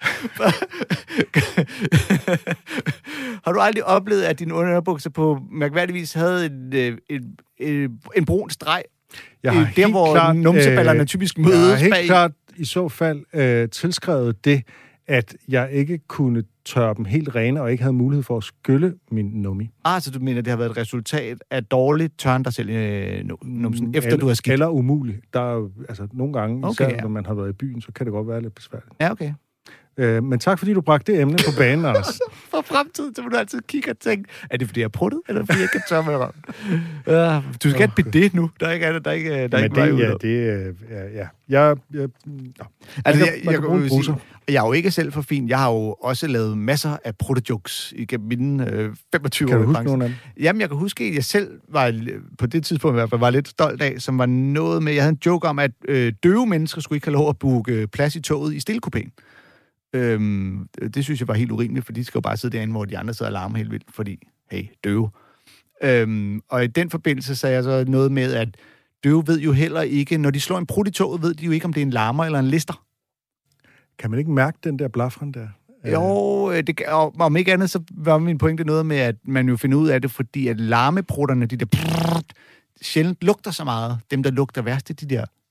Har du aldrig oplevet, at dine underbukser på mærkværdig vis havde en, en, en, en brun streg? Jeg har der, hvor klart, numseballerne øh, typisk mødes Jeg har helt bag. klart i så fald øh, tilskrevet det, at jeg ikke kunne tørre dem helt rene, og ikke havde mulighed for at skylle min nummi. Ah, så du mener, det har været et resultat af dårligt tørren dig selv i numsen, efter eller, du har skidt? Eller umuligt. Der er jo, altså nogle gange, okay, især ja. når man har været i byen, så kan det godt være lidt besværligt. Ja, okay. Øh, men tak, fordi du bragte det emne på banen, Anders. For fremtiden, så må du altid kigge og tænke, er det fordi jeg er pruttet, eller fordi jeg ikke kan tørre med røven? Uh, du skal ikke okay. det nu. Der er ikke andet, der er ikke, der er ikke det, ja, det, ja, ja. Jeg, jeg, ja. Altså, jeg, jeg, jeg, jeg, sige, jeg er jo ikke selv for fin. Jeg har jo også lavet masser af pruttejokes igennem mine øh, femogtyve år. Kan du huske nogle af dem? Jamen, jeg kan huske, at jeg selv var, på det tidspunkt i hvert fald, var lidt stolt af, som var noget med, jeg havde en joke om, at øh, døve mennesker skulle ikke have lov at booke plads i toget i stillekupéen. Øhm, det synes jeg var helt urimeligt, for de skal jo bare sidde derinde, hvor de andre sidder og larmer helt vildt, fordi, hey, døve. Øhm, og i den forbindelse sagde jeg så noget med, at døve ved jo heller ikke, når de slår en prut i toget, ved de jo ikke, om det er en larmer eller en lister. Kan man ikke mærke den der blafren der? Jo, det, og om ikke andet, så var min pointe noget med, at man jo finder ud af det, fordi at larmeprutterne, de der prrrt, sjældent lugter så meget. Dem, der lugter værst, det er de der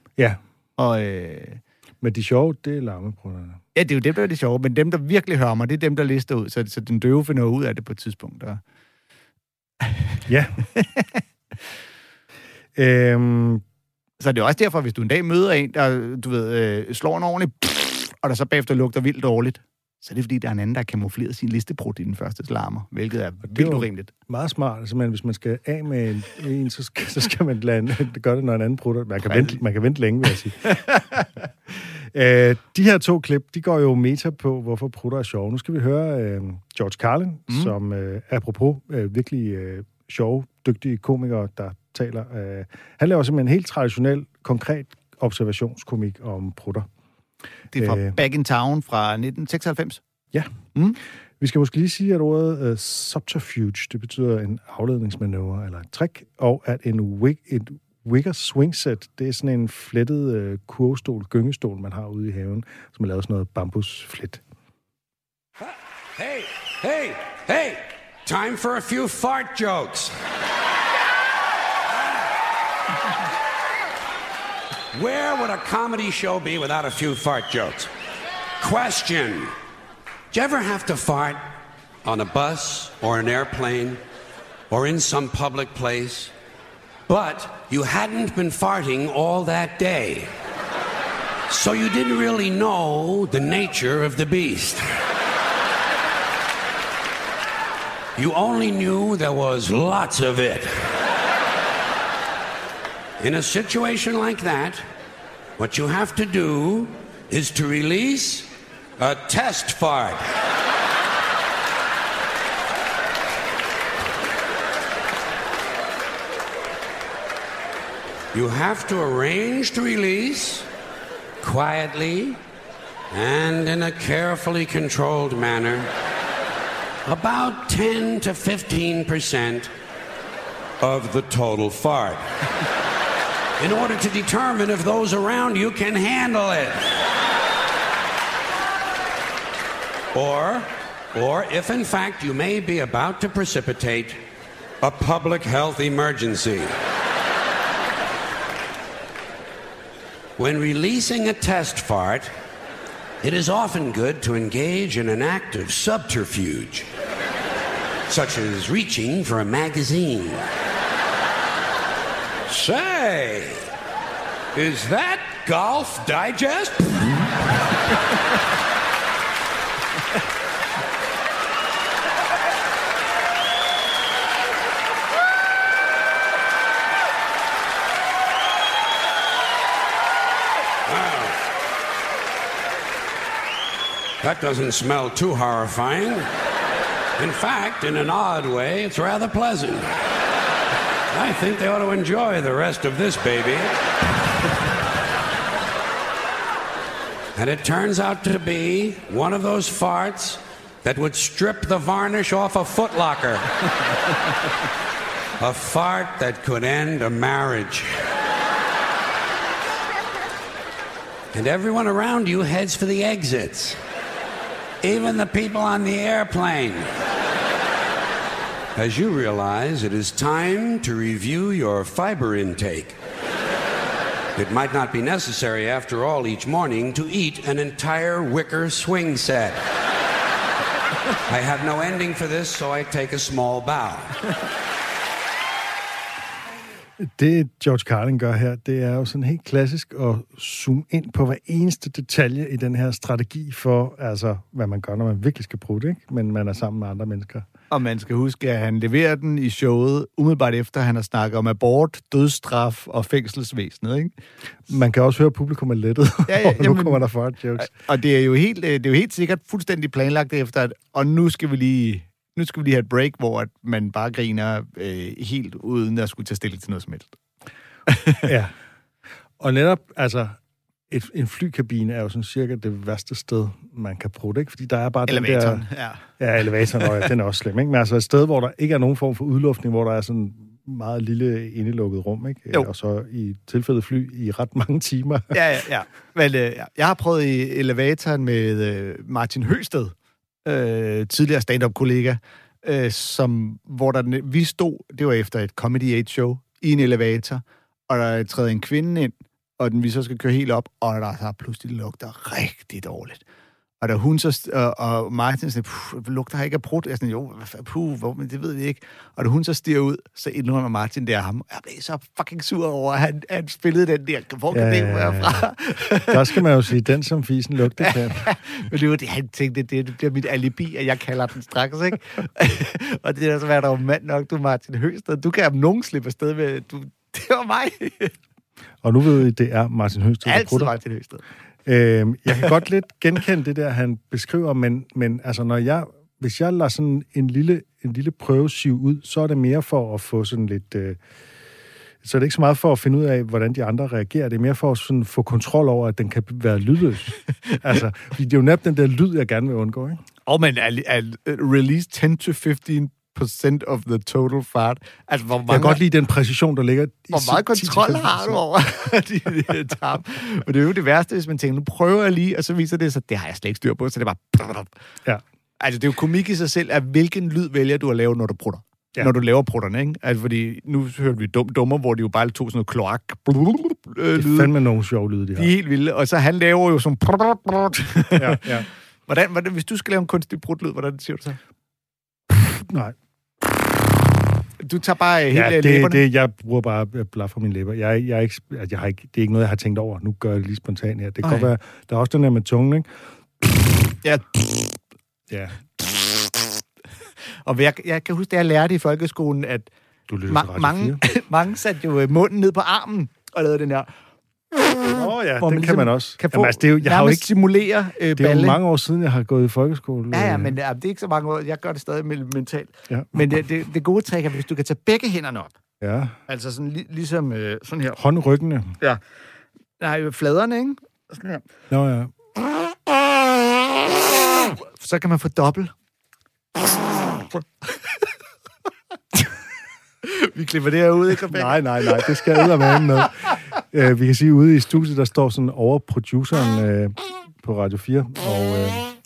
Ja. Og, øh, men de sjove, det er larmeprutterne. Ja, det er jo dem, der er det sjove, men dem, der virkelig hører mig, det er dem, der lister ud, så, så den døve finder ud af det på et tidspunkt. Og... Ja. øhm... Så det er også derfor, hvis du en dag møder en, der, du ved, øh, slår en ordentlig, og der så bagefter lugter vildt dårligt, så er det fordi, der er en anden, der har kamufleret sin listeprut i den første larmer, hvilket er vildt urimeligt. Meget smart. Altså, man, hvis man skal af med en, en så, skal, så skal man lade en, gøre det, når en anden prutter. Man kan, vente, man kan vente længe, vil jeg sige. øh, de her to klip, de går jo meta på, hvorfor prutter er sjove. Nu skal vi høre øh, George Carlin, mm. som øh, apropos øh, virkelig øh, sjove, dygtige komikere, der taler. Øh, han laver simpelthen en helt traditionel, konkret observationskomik om prutter. Det er fra øh, Back in Town fra nitten seksoghalvfems. Ja. Mm. Vi skal måske lige sige, at ordet uh, subterfuge, det betyder en afledningsmanøvre eller et trick, og at en wig, et wigger swing set, det er sådan en flettet uh, kurvestol, gyngestol, man har ude i haven, som er lavet sådan noget bambusflet. Hey, hey, hey! Time for a few fart jokes. Where would a comedy show be without a few fart jokes? Question. Did you ever have to fart on a bus or an airplane or in some public place, but you hadn't been farting all that day? So you didn't really know the nature of the beast. You only knew there was lots of it. In a situation like that, what you have to do is to release a test fart. You have to arrange the release quietly and in a carefully controlled manner, about ten to fifteen percent of the total fart. In order to determine if those around you can handle it. Or, or if in fact you may be about to precipitate a public health emergency. When releasing a test fart, it is often good to engage in an act of subterfuge, such as reaching for a magazine. Say, is that Golf Digest? Wow. That doesn't smell too horrifying. In fact, in an odd way, it's rather pleasant. I think they ought to enjoy the rest of this baby. And it turns out to be one of those farts that would strip the varnish off a Foot Locker. A fart that could end a marriage. And everyone around you heads for the exits. Even the people on the airplane. As you realize, it is time to review your fiber intake. It might not be necessary, after all, each morning to eat an entire wicker swing set. I have no ending for this, so I take a small bow. Det George Carlin gør her, det er jo sådan helt klassisk at zoome ind på hver eneste detalje i den her strategi for, altså, hvad man gør, når man virkelig skal prutte, ikke? Men man er sammen med andre mennesker. Og man skal huske, at han leverer den i showet umiddelbart efter, han har snakket om abort, dødsstraf og fængselsvæsenet, ikke? Man kan også høre, at publikum er lettet, ja, ja, og nu kommer der fart jokes. Og det er jo helt, det er jo helt sikkert fuldstændig planlagt efter, at, og nu skal vi lige... Nu skal vi lige have et break, hvor at man bare griner øh, helt uden at skulle tage stilling til noget som helst. Ja. Og netop, altså, et, en flykabine er jo sådan cirka det værste sted, man kan prutte, ikke? Fordi der er bare elevatoren, den der... ja. Ja, elevatoren, og ja, den er også slem, ikke? Men altså et sted, hvor der ikke er nogen form for udluftning, hvor der er sådan meget lille indelukket rum, ikke? Jo. Og så i tilfældet fly i ret mange timer. Ja, ja, ja. Vel, øh, jeg har prøvet i elevatoren med øh, Martin Høsted, øh, tidligere stand-up-kollega, øh, som, hvor der, vi stod, det var efter et Comedy eight show, i en elevator, og der træder en kvinde ind, og den vi så skal køre helt op, og der så pludselig lugter rigtig dårligt. Og da hun så, og, og Martin sådan, puh, lugter her ikke af prut? Jeg sådan, jo, puh, hvor, men det ved vi ikke. Og da hun så stiger ud, så indrømmer Martin der ham. Jeg blev så fucking sur over, at han, han spillede den der. Hvor kan ja, det være fra? Der skal man jo sige, den som fisen lugter kan. Men det var det, han tænkte, det, det bliver mit alibi, at jeg kalder den straks, ikke? Og det er så været der mand nok, du Martin Høsted. Du kan have nogen slippe afsted med, du, det var mig. Og nu ved I, det er Martin Høsted. Altid Martin Høsted. Øhm, jeg kan godt lidt genkende det der, han beskriver, men, men altså, når jeg, hvis jeg lader sådan en lille, en lille prøvesiv ud, så er det mere for at få sådan lidt... Øh, så er det ikke så meget for at finde ud af, hvordan de andre reagerer. Det er mere for at sådan få kontrol over, at den kan være lydløs. Altså, det er jo netop den der lyd, jeg gerne vil undgå, ikke? Og men at, at release ten to fifteen percent of the total fart. Altså, hvor mange, jeg kan godt lide den præcision, der ligger i hvor meget kontrol har du over de, de tarm? Men det er jo det værste, hvis man tænker, nu prøver jeg lige, og så viser det sig, det har jeg slet ikke styr på, så det er bare... Ja. Altså, det er jo komik i sig selv, at hvilken lyd vælger du at lave, når du prutter. Ja. Når du laver prutterne, ikke? Altså, fordi nu hørte vi dum dummer, hvor de jo bare tog sådan noget kloak. Det er fandme nogle sjove lyde, de har. De er helt vilde, og så han laver jo sådan... ja, ja. Hvordan, hvordan, hvis du skal lave en kunstig prutlyd, hvordan siger du så? Nej. Du tager bare helt ja, det, læberne? det, jeg bruger bare blaf fra mine læber. Jeg, jeg, er ikke, jeg har ikke, det er ikke noget, jeg har tænkt over. Nu gør jeg det lige spontant her. Det kan godt være, der er også den der med tungen, ikke? Ja. Ja. Og jeg, jeg kan huske, da jeg lærte i folkeskolen, at du ma- mange, mange satte jo munden ned på armen og lavede den her... Åh oh, ja, den ligesom kan man også. Kan få, Jamen, altså, det er jo, jeg har jo ikke simulere øh, det er balle. jo mange år siden, jeg har gået i folkeskole. Ja, ja, men ja, det er ikke så mange år. Jeg gør det stadig mentalt. Ja. Men det, det, det gode trick er, hvis du kan tage begge hænderne op. Ja. Altså sådan lig, ligesom øh, sådan her. Håndryggene. Ja. Nej, fladerne, ikke? Sådan her. Nå ja. Så kan man få dobbelt. Vi klipper det her ud, ikke? Nej, nej, nej. Det skal jeg med med. Uh, vi kan sige, ude i studiet, der står sådan over produceren uh, på Radio fire. Og,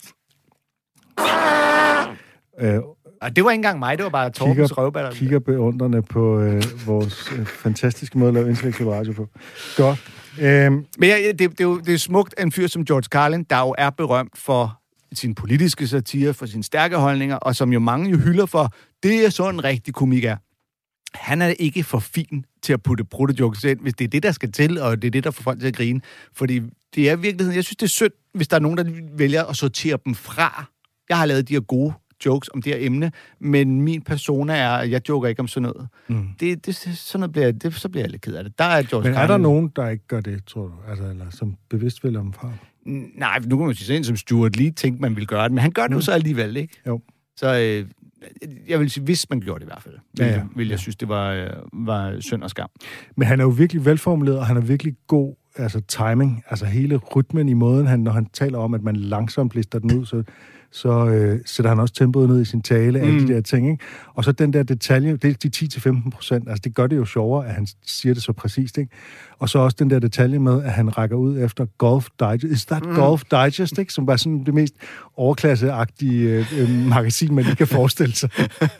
uh, uh, og det var ikke engang mig, det var bare Torbens røvballer. Kigger beundrende på uh, vores uh, fantastiske måde at lave intellektuel radio på. Godt. Uh, Men ja, det, det, er jo, det er smukt af en fyr som George Carlin, der jo er berømt for sin politiske satire, for sine stærke holdninger, og som jo mange jo hylder for, det er sådan en rigtig komik er. Han er ikke for fin til at putte bruttejokes ind, hvis det er det, der skal til, og det er det, der får folk til at grine. Fordi det er virkeligheden, jeg synes, det er synd, hvis der er nogen, der vælger at sortere dem fra. Jeg har lavet de her gode jokes om det her emne, men min persona er, at jeg joker ikke om sådan noget. Mm. Det, det, sådan noget bliver, det, så bliver jeg lidt ked af det. Der er George men er Carlin. Der nogen, der ikke gør det, tror du? Altså, eller som bevidst vælger dem fra? Nej, nu kan man sige sådan som Stuart Lee tænkte, man ville gøre det, men han gør det mm. jo så alligevel, ikke? Jo. Så øh, jeg vil sige, hvis man gjorde det i hvert fald, ja, ja. vil jeg synes, det var, øh, var synd og skam. Men han er jo virkelig velformuleret, og han er virkelig god altså timing, altså hele rytmen i måden, han, når han taler om, at man langsomt lister den ud, så, så øh, sætter han også tempoet ned i sin tale, mm. alle de der ting, ikke? Og så den der detalje, det er de ti til femten procent, altså det gør det jo sjovere, at han siger det så præcist, ikke? Og så også den der detalje med, at han rækker ud efter Golf Digest, is that mm. Golf Digest, ikke? Som var sådan det mest overklasseagtige øh, magasin, man lige kan forestille sig.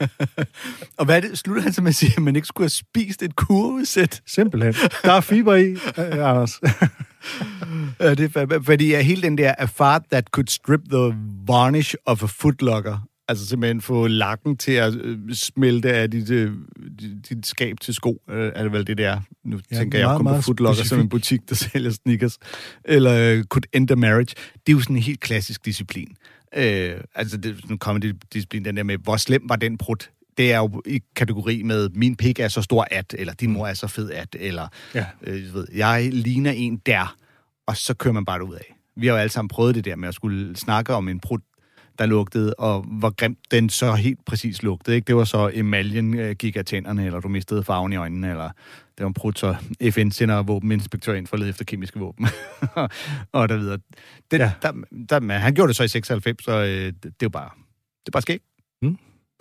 Og hvad er det, slutter han så med at sige, at man ikke skulle have spist et kurvesæt? Simpelthen. Der er fiber i, øh, Anders. Ja, det er, fordi ja, hele den der a fart that could strip the varnish of a footlocker, altså simpelthen få lakken til at øh, smelte af dit, øh, dit skab til sko, øh, er det vel det der. Nu ja, tænker jeg kun på Footlocker specifik. Som en butik, der sælger sneakers. Eller uh, could end a marriage. Det er jo sådan en helt klassisk disciplin. Øh, altså, det er sådan en comedy-disciplin, den der med, hvor slem var den prut? Det er jo i kategori med, min pik er så stor at, eller din mor er så fed at, eller ja. øh, jeg, ved, jeg ligner en der, og så kører man bare ud af. Vi har jo alle sammen prøvet det der med at skulle snakke om en prut, der lugtede, og hvor grimt den så helt præcis lugtede. Ikke? Det var så emaljen øh, gik af tænderne, eller du mistede farven i øjnene, eller det var en prut, så F N sender våbeninspektør ind for at lede efter kemiske våben. og der videre. Det, ja. der, der, der, han gjorde det så i seksoghalvfems, så øh, det, det er jo bare, det er bare skægt. Mm.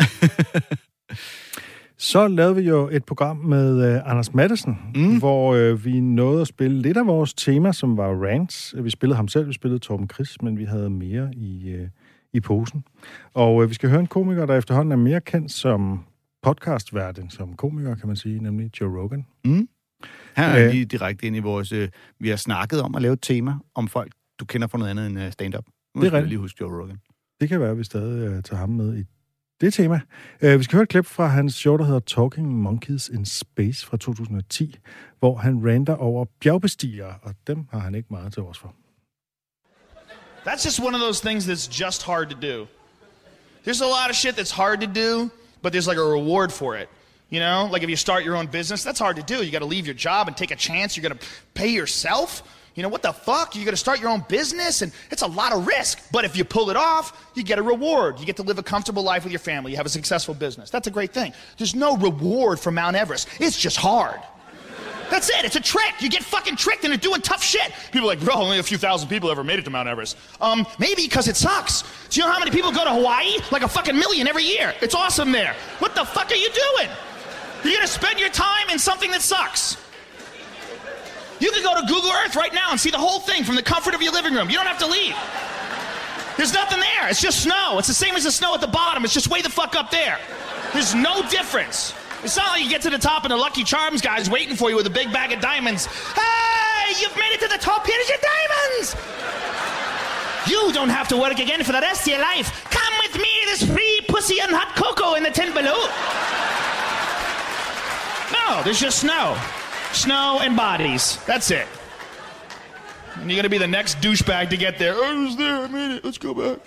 Så lavede vi jo et program med uh, Anders Matthesen, mm. hvor uh, vi nåede at spille lidt af vores tema, som var rants. Vi spillede ham selv, vi spillede Torben Chris, men vi havde mere i, uh, i posen. Og uh, vi skal høre en komiker, der efterhånden er mere kendt som podcastvært end som komiker, kan man sige, nemlig Joe Rogan. Mm. Her er lige direkte ind i vores... Øh, vi har snakket om at lave et tema om folk, du kender fra noget andet end uh, stand-up. Nu det er skal rigtigt. lige huske Joe Rogan. Det kan være, at vi stadig uh, tager ham med i det tema. Uh, vi skal høre et klip fra hans show, der hedder Talking Monkeys in Space fra to tusind og ti, hvor han ranter over bjergbestigere, og dem har han ikke meget til os for. That's just one of those things that's just hard to do. There's a lot of shit that's hard to do, but there's like a reward for it. You know, like if you start your own business, that's hard to do. You got to leave your job and take a chance. You're going to pay yourself. You know, what the fuck? You're going to start your own business, and it's a lot of risk. But if you pull it off, you get a reward. You get to live a comfortable life with your family. You have a successful business. That's a great thing. There's no reward for Mount Everest. It's just hard. That's it. It's a trick. You get fucking tricked into doing tough shit. People are like, bro, only a few thousand people ever made it to Mount Everest. Um, maybe because it sucks. Do you know how many people go to Hawaii? Like a fucking million every year. It's awesome there. What the fuck are you doing? You're gonna spend your time in something that sucks. You can go to Google Earth right now and see the whole thing from the comfort of your living room. You don't have to leave. There's nothing there. It's just snow. It's the same as the snow at the bottom. It's just way the fuck up there. There's no difference. It's not like you get to the top and the Lucky Charms guy's waiting for you with a big bag of diamonds. Hey, you've made it to the top. Here's your diamonds. You don't have to work again for the rest of your life. Come with me. There's free pussy and hot cocoa in the tin below. No, there's just snow. Snow and bodies. That's it. And you're gonna be the next douchebag to get there. Oh, I was there, I made it. Let's go back.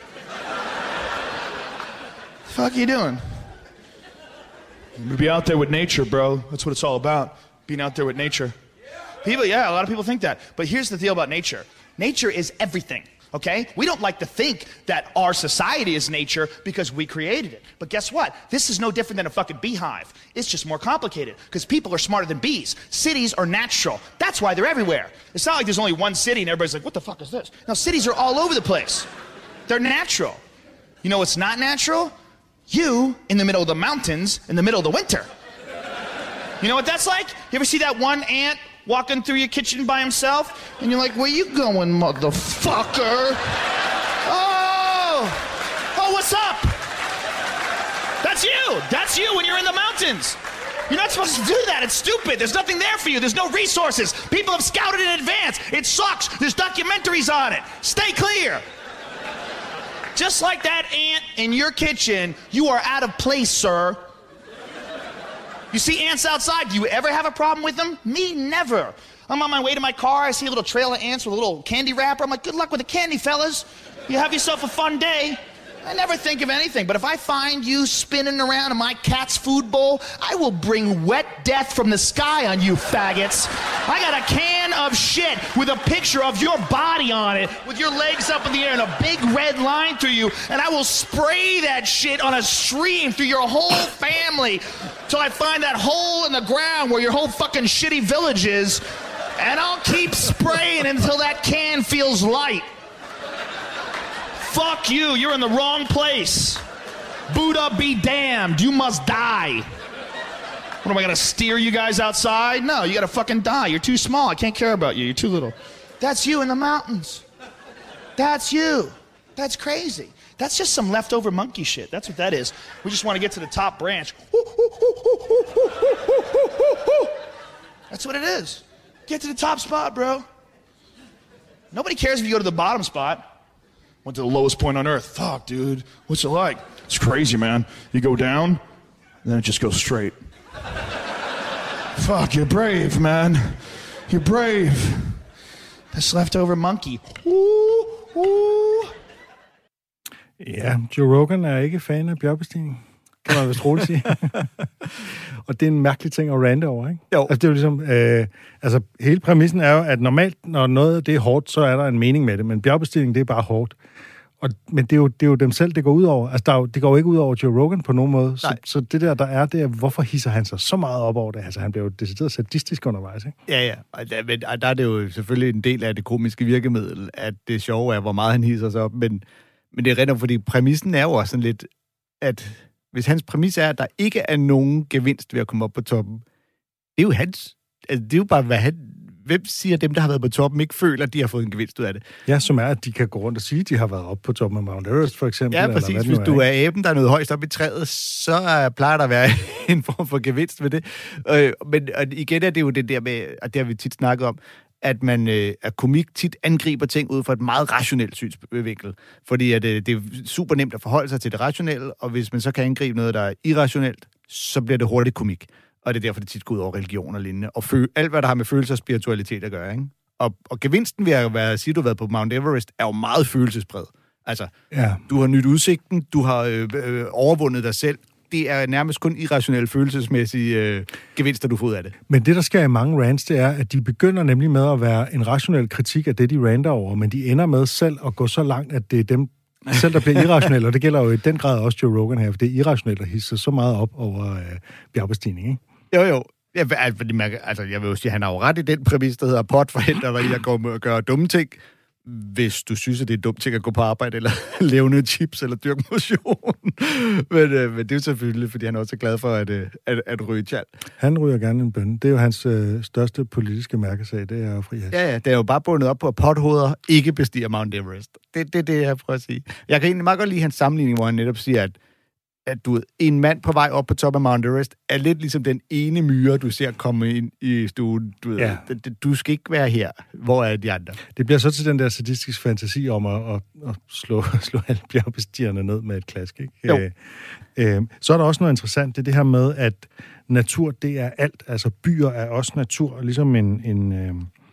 The fuck are you doing? Be out there with nature, bro. That's what it's all about. Being out there with nature. People, yeah, a lot of people think that. But here's the deal about nature. Nature is everything. Okay? We don't like to think that our society is nature because we created it. But guess what? This is no different than a fucking beehive. It's just more complicated because people are smarter than bees. Cities are natural. That's why they're everywhere. It's not like there's only one city and everybody's like, what the fuck is this? No, cities are all over the place. They're natural. You know what's not natural? You in the middle of the mountains in the middle of the winter. You know what that's like? You ever see that one ant walking through your kitchen by himself, and you're like, where you going, motherfucker? Oh, oh, what's up? That's you. That's you when you're in the mountains. You're not supposed to do that. It's stupid. There's nothing there for you. There's no resources. People have scouted in advance. It sucks. There's documentaries on it. Stay clear. Just like that ant in your kitchen, you are out of place, sir. You see ants outside, do you ever have a problem with them? Me, never. I'm on my way to my car, I see a little trail of ants with a little candy wrapper. I'm like, good luck with the candy, fellas. You have yourself a fun day. I never think of anything, but if I find you spinning around in my cat's food bowl, I will bring wet death from the sky on you faggots. I got a can of shit with a picture of your body on it, with your legs up in the air and a big red line through you, and I will spray that shit on a stream through your whole family till I find that hole in the ground where your whole fucking shitty village is, and I'll keep spraying until that can feels light. Fuck you, you're in the wrong place. Buddha be damned, you must die. What, am I gonna steer you guys outside? No, you gotta fucking die. You're too small, I can't care about you, you're too little. That's you in the mountains. That's you. That's crazy. That's just some leftover monkey shit, that's what that is. We just wanna get to the top branch. That's what it is. Get to the top spot, bro. Nobody cares if you go to the bottom spot. Went to the lowest point on earth. Fuck, dude. What's it like? It's crazy, man. You go down, and then it just goes straight. Fuck, you're brave, man. You're brave. This leftover monkey. Ooh, ooh. Ja, Joe Rogan er ikke fan af bjergbestigning. Kan man vist roligt sige. Og det er en mærkelig ting at rante over, ikke? Jo. Altså, det er jo ligesom... Øh, altså, hele præmissen er jo, at normalt, når noget det er hårdt, så er der en mening med det. Men bjergbestigning, det er bare hårdt. Og, men det er, jo, det er jo dem selv, det går ud over. Altså, der er jo, det går jo ikke ud over Joe Rogan på nogen måde. Så, så det der, der er, det er, hvorfor hisser han sig så meget op over det? Altså, han bliver jo decideret sadistisk undervejs, ikke? Ja, ja. Og der, men, der er det jo selvfølgelig en del af det komiske virkemiddel, at det sjove er, hvor meget han hisser sig op. Men, men det er rent fordi præmissen er jo også sådan lidt, at hvis hans præmis er, at der ikke er nogen gevinst ved at komme op på toppen, det er jo hans... Altså, det er jo bare, hvad han, hvem siger dem, der har været på toppen, ikke føler, at de har fået en gevinst ud af det? Ja, som er, at de kan gå rundt og sige, at de har været oppe på toppen af Mount Everest, for eksempel. Ja, præcis. Eller Hvis er, du er aben, der er noget højst op i træet, så uh, plejer der at være en form for gevinst ved det. Uh, men og igen er det jo det der med, og det har vi tit snakket om, at man øh, at komik tit angriber ting ud fra et meget rationelt synsvinkel. Fordi at, øh, det er super nemt at forholde sig til det rationelle, og hvis man så kan angribe noget, der er irrationelt, så bliver det hurtigt komik. Og det er derfor, det tit går ud over religion og lignende. Og fø- alt, hvad der har med følelser og spiritualitet at gøre, ikke? Og, og gevinsten ved at være, sige, du har været på Mount Everest, er jo meget følelsesbred. Altså, ja. Du har nyt udsigten, du har øh, øh, overvundet dig selv. Det er nærmest kun irrationelle følelsesmæssige øh, gevinster, du får ud af det. Men det, der sker i mange rants, det er, at de begynder nemlig med at være en rationel kritik af det, de ranter over, men de ender med selv at gå så langt, at det er dem selv, der bliver irrationelle, og det gælder jo i den grad også Joe Rogan her, for det er irrationelt at hisse så meget op over øh, bjergbestigning, ikke? Jo, jo. Jeg, altså, jeg vil jo sige, at han har jo ret i den præmis, der hedder pot forhindrer dig i at gå og gøre dumme ting, hvis du synes, at det er dumt ting at gå på arbejde, eller lave noget chips, eller dyrke motion. men, øh, men det er jo selvfølgelig, fordi han også er glad for at, øh, at, at ryge tjal. Han ryger gerne en bønne. Det er jo hans øh, største politiske mærkesag, det er jo frihash. Ja, ja, det er jo bare bundet op på, at pothoveder ikke bestiger Mount Everest. Det er det, det, jeg prøver at sige. Jeg kan egentlig meget godt lide hans sammenligning, hvor han netop siger, at at du, en mand på vej op på top af Mount Everest er lidt ligesom den ene myre, du ser komme ind i stuen. Du, ja. ved, du skal ikke være her. Hvor er de andre? Det bliver så til den der sadistiske fantasi om at, at, at slå, slå alle bjergbestigerne ned med et klask, ikke? Jo. Øh, øh, så er der også noget interessant, det er det her med, at natur, det er alt. Altså byer er også natur, ligesom en, en, øh,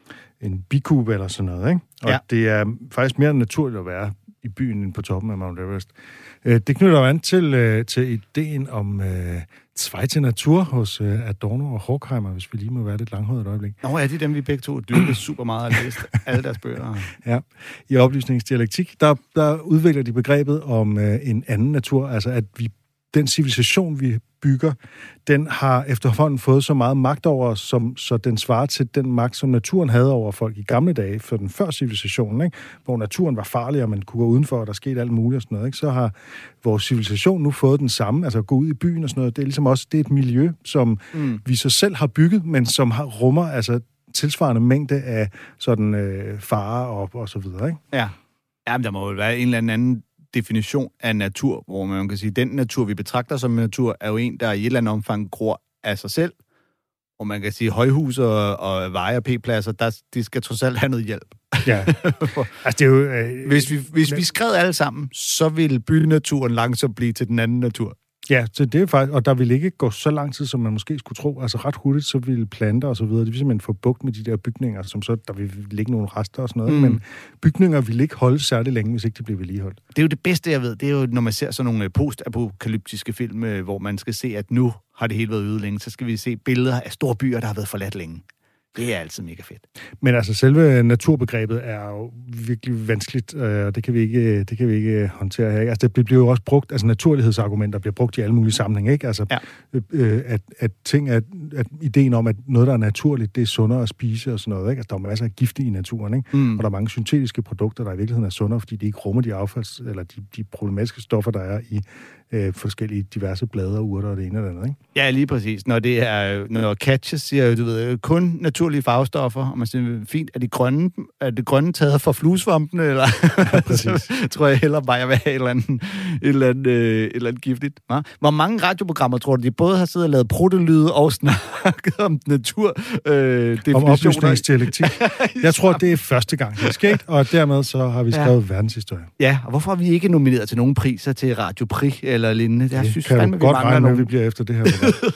en bikube eller sådan noget, ikke? Og ja. det er faktisk mere naturligt at være i byen end på toppen af Mount Everest. Det knytter jo an til, til ideen om øh, Zweite Natur hos øh, Adorno og Horkheimer, hvis vi lige må være lidt langhåret et øjeblik. Nå, er de dem, vi begge to dyrker super meget og læst alle deres bøger? Ja, i oplysningsdialektik, der, der udvikler de begrebet om øh, en anden natur, altså at vi den civilisation, vi bygger, den har efterhånden fået så meget magt over os, som, så den svarer til den magt, som naturen havde over folk i gamle dage, for den før civilisationen, ikke? Hvor naturen var farlig, og man kunne gå udenfor, og der skete alt muligt og sådan noget, ikke? Så har vores civilisation nu fået den samme, altså at gå ud i byen og sådan noget. Det er ligesom også det er et miljø, som mm. vi så selv har bygget, men som har, rummer altså tilsvarende mængde af sådan øh, farer og, og så videre, ikke? Ja. Jamen, der må jo være en eller anden definition af natur, hvor man kan sige, at den natur, vi betragter som natur, er jo en, der i et eller andet omfang gror af sig selv. Og man kan sige, højhuse og, og veje og p-pladser, der, de skal trods alt have noget hjælp. Ja. Altså, det er jo, øh, hvis vi, hvis men... vi skred alle sammen, så vil bynaturen langsomt blive til den anden natur. Ja, så det er faktisk, og der vil ikke gå så lang tid, som man måske skulle tro. Altså ret hurtigt, så vil planter og så videre, det vil simpelthen få bugt med de der bygninger, som så, der vil ligge nogle rester og sådan noget, mm. men bygninger vil ikke holde særlig længe, hvis ikke de bliver vedligeholdt. Det er jo det bedste, jeg ved, det er jo, når man ser sådan nogle postapokalyptiske film, hvor man skal se, at nu har det hele været ude længe, så skal vi se billeder af store byer, der har været forladt længe. Det er altid mega fedt. Men altså, selve naturbegrebet er jo virkelig vanskeligt, og det kan vi ikke, det kan vi ikke håndtere her. Altså, det bliver jo også brugt, altså naturlighedsargumenter bliver brugt i alle mulige sammenhænge, ikke? Altså, ja. øh, at, at ting, at, at ideen om, at noget, der er naturligt, det er sundere at spise og sådan noget, ikke? Altså, der er masser af gifte i naturen, ikke? Mm. Og der er mange syntetiske produkter, der i virkeligheden er sundere, fordi de ikke rummer de affalds, eller de, de problematiske stoffer, der er i øh, forskellige diverse blade og urter og det ene eller andet, ikke? Ja, lige præcis. Når det er, når Katja siger, du ved, kun naturlige farvestoffer, og man siger, fint, er de grønne, er det grønne taget fra fluesvampene, eller? Ja, præcis. tror jeg hellere bare, jeg vil have et eller andet, et eller andet, øh, et eller andet giftigt. Ja? Hvor mange radioprogrammer, tror du, de både har siddet og lavet prutelyde og snakket om natur, øh, om oplysningsdialektik. Jeg tror, det er første gang, det er sket, og dermed så har vi skrevet ja. verdenshistorie. Ja, og hvorfor har vi ikke nomineret til nogen priser til Radio Prix eller lignende? Jeg det synes kan fandme, du godt regne nogen. vi bliver efter det her.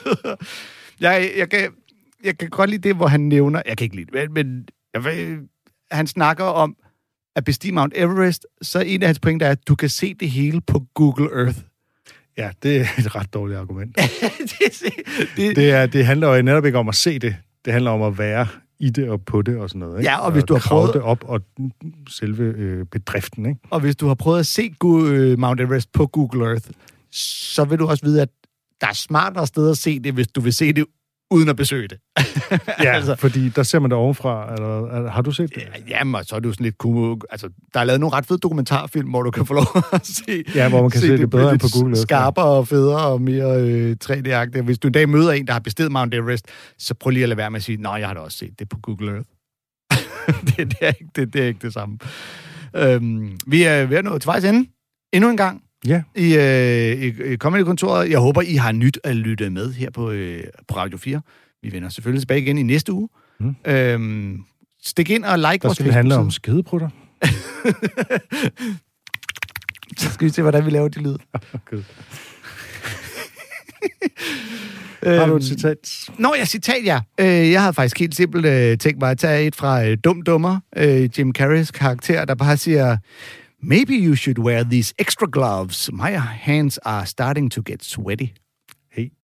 jeg, jeg, kan, jeg kan godt lide det, hvor han nævner, jeg kan ikke lide det, men, men jeg ved, han snakker om at bestige Mount Everest, så en af hans pointer er, at du kan se det hele på Google Earth. Ja, det er et ret dårligt argument. det, det, det, er, det handler jo netop ikke om at se det. Det handler om at være i det og på det og sådan noget, ikke? Ja, og hvis og du har prøvet det op og selve øh, bedriften, ikke? Og hvis du har prøvet at se Mount Everest på Google Earth, så vil du også vide, at der er smartere steder at se det, hvis du vil se det uden at besøge det. Ja, altså, fordi der ser man det ovenfra. Eller, har du set det? Jamen, så er det jo sådan lidt... Altså, der er lavet nogle ret fede dokumentarfilm, hvor du kan få lov at se... Ja, hvor man kan se, se det, det bedre end på Google. Skarpere og federe og mere øh, tre D-agtigt. Hvis du en dag møder en, der har bestiget Mount Everest, så prøv lige at lade være med at sige, nej, jeg har da også set det på Google Earth. det, det, er ikke, det, det er ikke det samme. Øhm, vi er ved at nå til vejs ende. Endnu en gang. Ja. I, øh, i, i Comedy-kontoret. Jeg håber, I har nyt at lytte med her på, øh, på Radio fire. Vi vender selvfølgelig tilbage igen i næste uge. Mm. Øhm, stik ind og like Der vores skal det handle om skideprutter. Så skal vi se, hvordan vi laver de lyd. Okay. Har du et citat? Nå, ja, citat, ja. Øh, jeg havde faktisk helt simpelt øh, tænkt mig at tage et fra øh, Dum Dummer, øh, Jim Carreys karakter, der bare siger, maybe you should wear these extra gloves. My hands are starting to get sweaty. Hey,